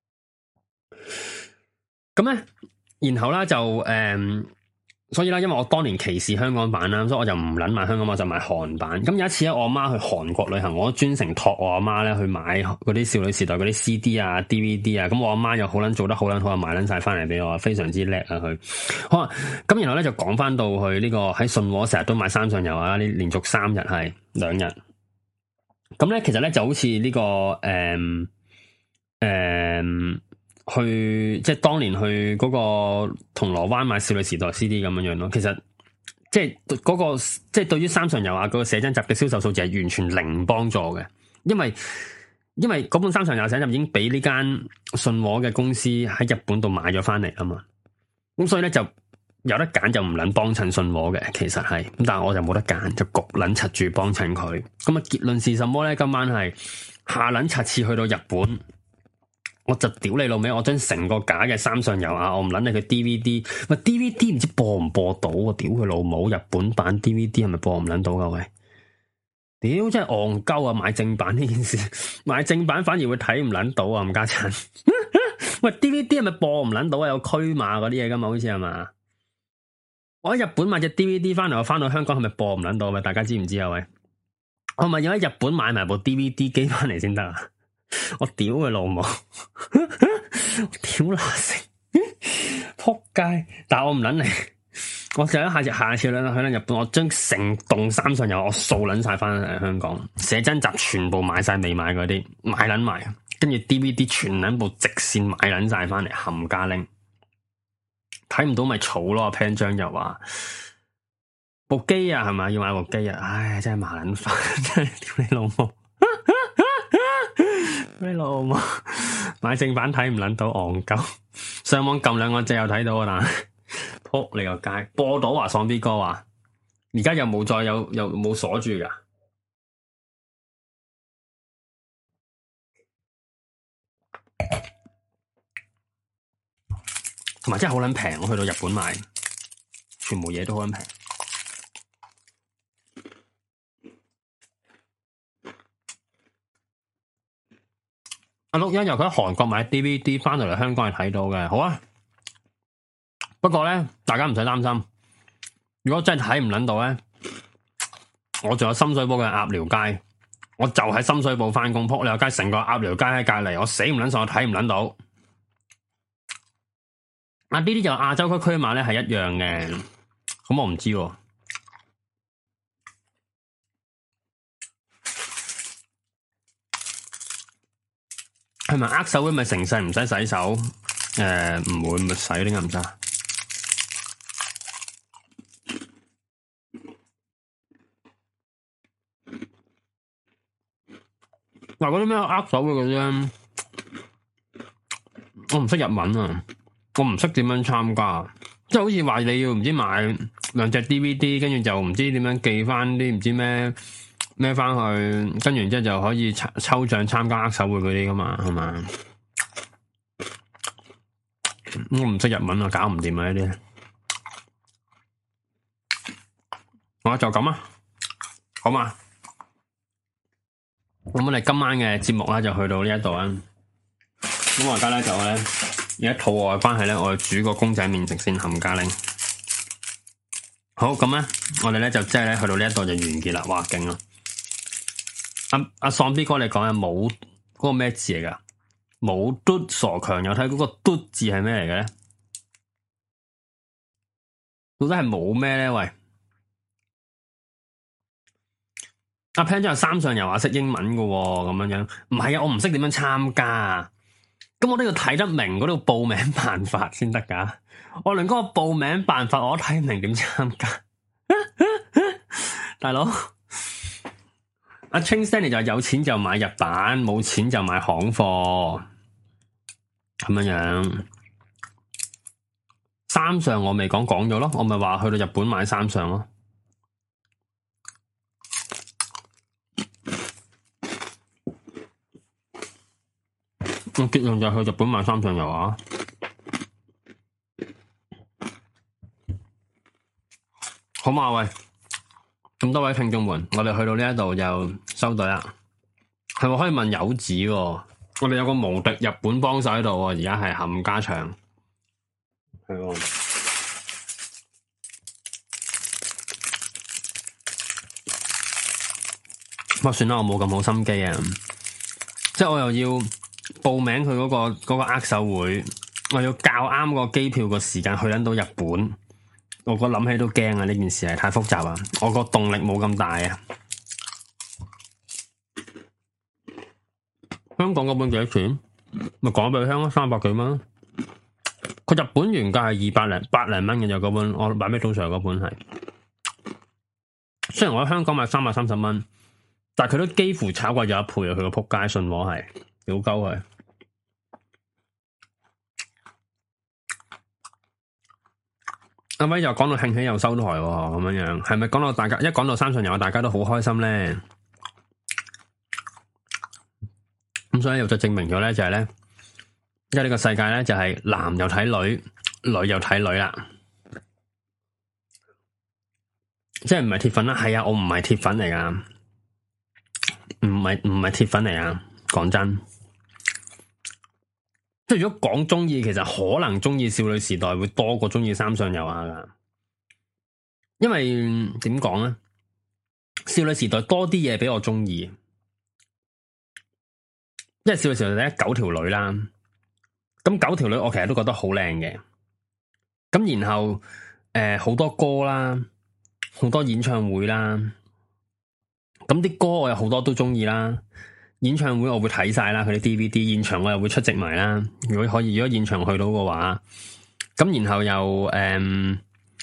咁咧，然後咧就誒。嗯所以啦，因為我當年歧視香港版啦，所以我就唔捻買香港版，我就買韓版。咁有一次咧，我阿媽去韓國旅行，我專程託我阿媽咧去買嗰啲少女時代嗰啲 C D 啊、D V D 啊。咁我阿媽又好捻做得好捻好，買捻晒翻嚟俾我，非常之叻啊佢。好啊，咁然後咧就講翻到去呢個喺信和成日都買三上悠啊，呢連續三日係兩日。咁咧其實咧就好似呢個誒誒。嗯嗯去即係當年去嗰個銅鑼灣買少女時代 C D 咁樣樣咯，其實即係嗰個即係對於三上悠亞嗰個寫真集嘅銷售數字係完全零幫助嘅，因為因為嗰本三上悠亞寫真集已經俾呢間信和嘅公司喺日本度買咗翻嚟啊嘛，咁所以咧就有得揀就唔捻幫襯信和嘅，其實係咁，但係我就冇得揀，就焗捻柒住幫襯佢。咁啊結論是什麼咧？今晚係下捻柒次去到日本，我就屌你老味，我將成個假嘅三上悠亞，我唔捻你佢 D V D，喂 D V D 唔知播唔播到啊？屌佢老母，日本版 D V D 係咪播唔捻到噶？喂，屌真係戇鳩啊！買正版呢件事，買正版反而會睇唔捻到啊！冚家鏟，喂 D V D 係咪播唔捻到啊？有驅碼嗰啲嘢噶嘛？好似係嘛？我喺日本買隻 D V D 翻嚟，我翻到香港係咪播唔捻到？咪大家知唔知啊？喂，我咪要喺日本買埋部 D V D 機翻嚟先得啊！我屌佢老母，屌乸食，撲街！但係我唔捻嚟，我就一下次下次咧去到日本，我將成棟三上悠我掃捻晒翻嚟香港，寫真集全部買晒未買嗰啲買捻埋，跟住 D V D 全捻部直線買捻晒翻嚟冚家拎。睇唔到咪嘈咯，潘章又話部機啊，係咪要買部機啊？唉，真係麻撚煩，真係屌你老母，你老母買正版睇唔撚到戇鳩，上網撳兩個掣又睇到啊！但係撲你個街，播到啊！喪 B 哥話，而家又冇再有又冇鎖住噶。同埋真係好撚平，我去到日本買，全部嘢都好撚平。阿陸欣由佢喺韓國買 D V D 翻到嚟香港係睇到嘅，好啊。不過咧，大家唔使擔心，如果真係睇唔撚到咧，我仲有深水埗嘅鴨寮街，我就喺深水埗翻工，撲你個街，成個鴨寮街喺隔籬，我死唔撚信，我睇唔撚到。啊！呢啲就亞洲區區碼咧係一樣嘅，咁我唔知喎。係咪握手會咪成世唔使洗手？誒、呃，唔會咪洗啲咁渣。嗱，嗰啲咩握手會嗰啲，我唔識日文啊。我唔識點樣參加，即係好似話你要唔知買兩隻 D V D， 跟住就唔知點樣寄翻啲唔知咩咩翻去，跟住之後就可以抽抽獎參加握手會嗰啲噶嘛，係嘛？我唔識日文啊，搞唔掂啊呢啲。我就咁啊，好嘛？咁我哋今晚嘅節目咧就去到呢一度啊。咁我而家咧就咧。而家肚餓嘅關係咧，我煮個公仔麵食先冚家拎。好咁咧，我哋咧就即係咧去到呢一度就完結啦。哇，勁啊！阿阿喪 B 哥你講嘅冇嗰個咩字嚟噶？冇嘟傻強有睇嗰個嘟字係咩嚟嘅咧？到底係冇咩咧？喂，阿 Pan 真係三上悠亞識英文噶喎，咁樣樣唔係啊？我唔識點樣參加。咁我都要睇得明嗰度報名辦法先得噶，我連嗰個報名辦法我都睇唔明點參加，大佬阿 Ching Stanley 就有錢就買日版，冇錢就買行貨，咁樣樣。三上我未講講咗咯，我咪話去到日本買三上咯。我結論就去日本買三上悠亞，好嘛？喂，咁多位聽眾們，我哋去到呢一度就收隊啦。係咪可以問柚子喎？我哋有個無敵日本幫手喺度喎，而家係冚家祥。係喎。不過算啦，我冇咁好心機啊，即係我又要報名佢嗰個嗰個握手會，我要校啱個機票個時間去緊到日本，我個諗起都驚啊！呢件事係太複雜啊，我個動力冇咁大啊。香港嗰本幾多錢？咪講俾佢聽咯，三百幾蚊。佢日本原價係二百零百零蚊嘅，就嗰本我買俾早上嗰本係。雖然我喺香港買三百三十蚊，但係佢都幾乎炒過咗一倍啊！佢個仆街信和係屌鳩佢。 阿威又講到興起又收台咁樣樣，係咪講到大家一講到三上悠亞，大家都好開心咧？咁所以又就證明咗咧，就係咧，因為呢個世界咧就係男又睇女，女又睇女啦。即係唔係鐵粉啦？係啊，我唔係鐵粉嚟噶，唔係唔係鐵粉嚟啊！講真，即係如果講中意，其實可能中意少女時代會多過中意三上悠亞噶，因為點講咧？少女時代多啲嘢俾我中意，因為少女時代咧九條女啦，咁九條女我其實都覺得好靚嘅，咁然後誒好、呃、多歌啦。好多演唱會啦，咁啲歌我有好多都中意啦。演唱會我會睇晒啦，佢啲 D V D 現場我又會出席埋啦。如果可以，如果現場去到嘅話，咁然後又誒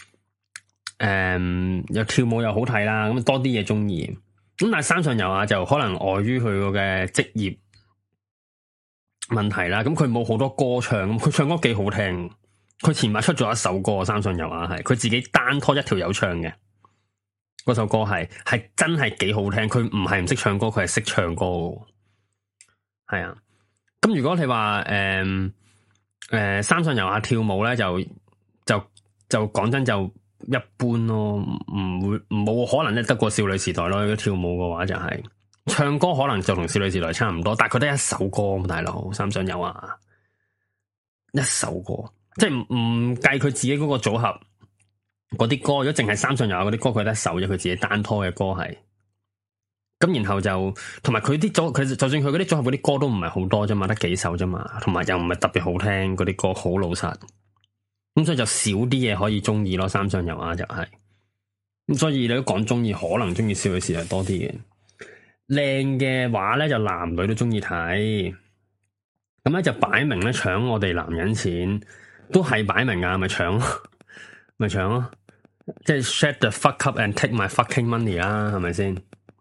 誒又跳舞又好睇啦，咁多啲嘢中意。咁但係三上悠亞就可能礙於佢嘅職業問題啦，咁佢冇好多歌唱，咁佢唱歌幾好聽。佢前排出咗一首歌，三上悠亞係佢自己單拖一條友唱嘅。嗰首歌係係真係幾好聽，佢唔係唔識唱歌，佢係識唱歌嘅。係啊，咁如果你話誒誒三上悠亞跳舞咧，就就就講真就一般咯，唔會冇可能咧得過少女時代咯。如果跳舞嘅話就係、是、唱歌可能就同少女時代差唔多，但係佢得一首歌，大佬三上悠亞一首歌，即係唔唔計佢自己嗰個組合。嗰啲歌，如果淨係三上悠亞嗰啲歌，佢得一首啫，佢自己單拖嘅歌係。咁然後就同埋佢啲組，佢就算佢嗰啲組合嗰啲歌都唔係好多啫嘛，得幾首啫嘛，同埋又唔係特別好聽，嗰啲歌好老實。咁所以就少啲嘢可以中意咯，三上悠亞就係、是。咁所以你都講中意，可能中意少女時代多啲嘅。靚嘅話咧，就男女都中意睇。咁咧就擺明咧搶我哋男人錢，都係擺明啊，咪搶咯。咪搶咯，即係 shut the fuck up and take my fucking money 啦，係咪先？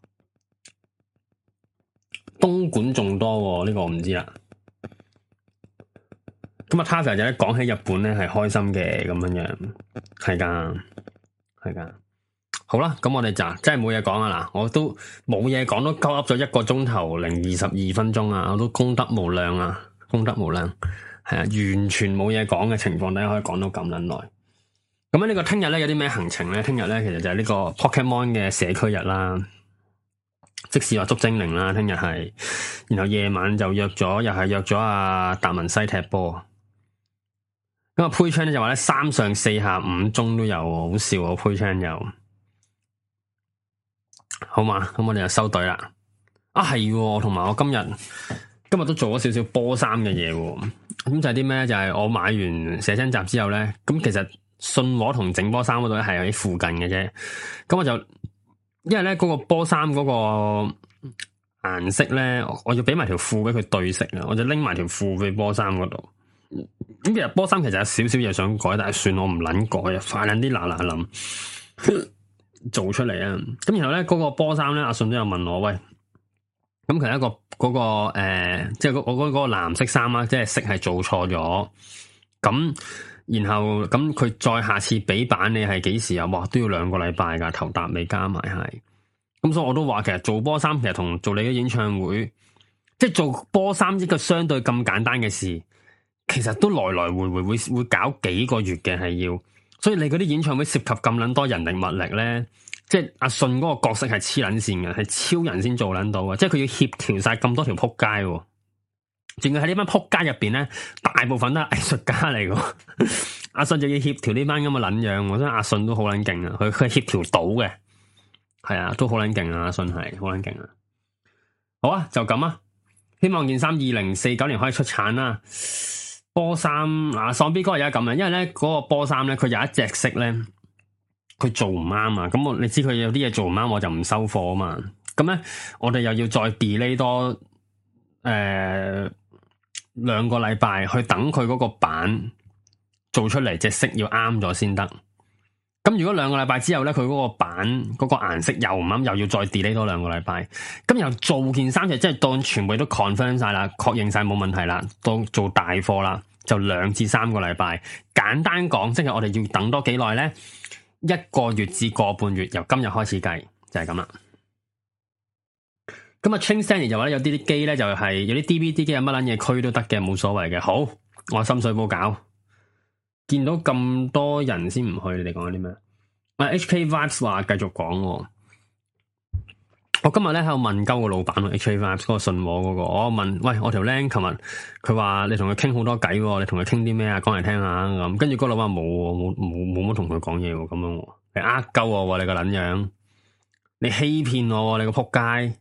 東莞仲多呢、這個我唔知啦。咁啊，Taffy 就咧講起日本咧係開心嘅咁樣樣，係噶，係噶。好啦，咁我哋就真係冇嘢講啊嗱，我都冇嘢講，都鳩噏咗一個鐘頭零二十二分鐘啊，我都功德無量啊，功德無量，係啊，完全冇嘢講嘅情況底下可以講到咁撚耐。咁呢、呢個聽日咧有啲咩行程咧？聽日咧其實就係呢個 Pokemon 嘅社區日啦，即使話捉精靈啦，聽日係，然後夜晚就約咗，又係約咗阿達文西踢波。咁啊 Pay Chan 咧就話咧三上四下五中都有，好笑啊 Pay Chan 又，好嘛？咁我哋就收隊啦。啊係，同埋我今日今日都做咗少少波衫嘅嘢，咁就係啲咩？就係、是、我買完寫真集之後咧，咁其實。信和同整波衫嗰度咧係喺附近嘅啫，咁我就因為咧嗰個波衫嗰個顏色咧，我要俾埋條褲俾佢對色啊，我就拎埋條褲俾波衫嗰度。咁其實波衫其實有少少嘢想改，但係算我唔捻改啊，快捻啲嗱嗱諗做出嚟啊！咁然後咧嗰個波衫咧，阿信都有問我喂，咁其實一個嗰個誒，即係我嗰嗰個藍色衫啊，即係色係做錯咗咁。然後咁佢再下次俾版你係幾時啊？哇，都要兩個禮拜噶，頭搭尾加埋係。咁所以我都話其實做波衫其實同做你嘅演唱會，即係做波衫一個相對咁簡單嘅事，其實都來來回回會會搞幾個月嘅係要。所以你嗰啲演唱會涉及咁捻多人力物力咧，即係阿信嗰個角色係黐捻線嘅，係超人先做捻到嘅，即係佢要協調晒咁多條扑街。仲要喺呢班撲街入邊咧，大部分都係藝術家嚟嘅。阿信就要協調呢班咁嘅撚樣，我覺得阿信都好撚勁啊！佢佢協調到嘅，係啊，都好撚勁啊！阿信係好撚勁啊！好啊，就咁啊！希望件衫二零四九年可以出產啦。波衫啊，喪 B 哥而家咁啊，因為咧嗰、那個波衫咧，佢有一隻色咧，佢做唔啱啊！咁我你知佢有啲嘢做唔啱，我就唔收貨啊嘛。咁咧，我哋又要再 delay 多誒。呃兩個禮拜去等佢嗰個版做出嚟，隻色要啱咗先得。咁如果兩個禮拜之後咧，佢嗰個版嗰個顏色又唔啱，又要再 delay 多兩個禮拜。咁又做件衫就即係當全部都 confirm 晒啦，確認晒冇問題啦，當做大貨啦。 就兩至三個禮拜。簡單講，即係我哋要等多幾耐咧？一個月至個半月，由今日開始計，就係咁啦。咁啊 Train Stanley 就話咧，有啲啲機咧就係、是、有啲 D V D 機有乜撚嘢區都得嘅，冇所謂嘅。好，我深水埗搞，見到咁多人先唔去，你哋講啲咩？啊 H K Vibes 話繼續講。我今日咧喺度問鳩個老闆，H K Vibes 嗰個信和嗰個，我問喂，我條僆琴日佢話你同佢傾好多偈，你同佢傾啲咩啊？講嚟聽下咁。跟住嗰老闆冇冇冇冇乜同佢講嘢喎，咁樣你呃鳩我，你個撚樣，你欺騙我，你個仆街。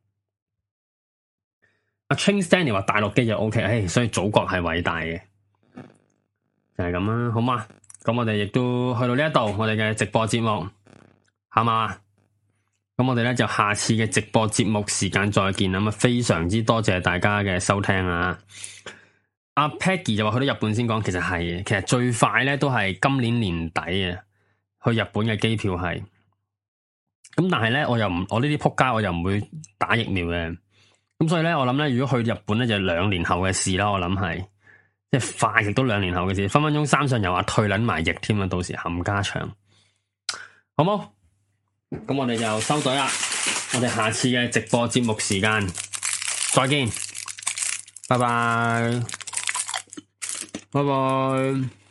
阿 Train Stanley 話大陸機就 O K，唉，所以祖國係偉大嘅，就係咁啦，好嘛？咁我哋亦都去到呢一度，我哋嘅直播節目，好嘛？咁我哋咧就下次嘅直播節目時間再見啦。咁啊，非常之多謝大家嘅收聽啊！阿 Peggy 就話去到日本先講，其實係嘅，其實最快咧都係今年年底啊，去日本嘅機票係。咁但係咧，我又唔，我呢啲仆街，我又唔會打疫苗嘅。咁所以咧，我諗咧，如果去日本咧，就兩年後嘅事啦。我諗係，即係快亦都兩年後嘅事，分分鐘三上又話退撚埋役添啊！到時冚家祥，好冇？咁我哋就收隊啦。我哋下次嘅直播節目時間再見，拜拜，拜拜。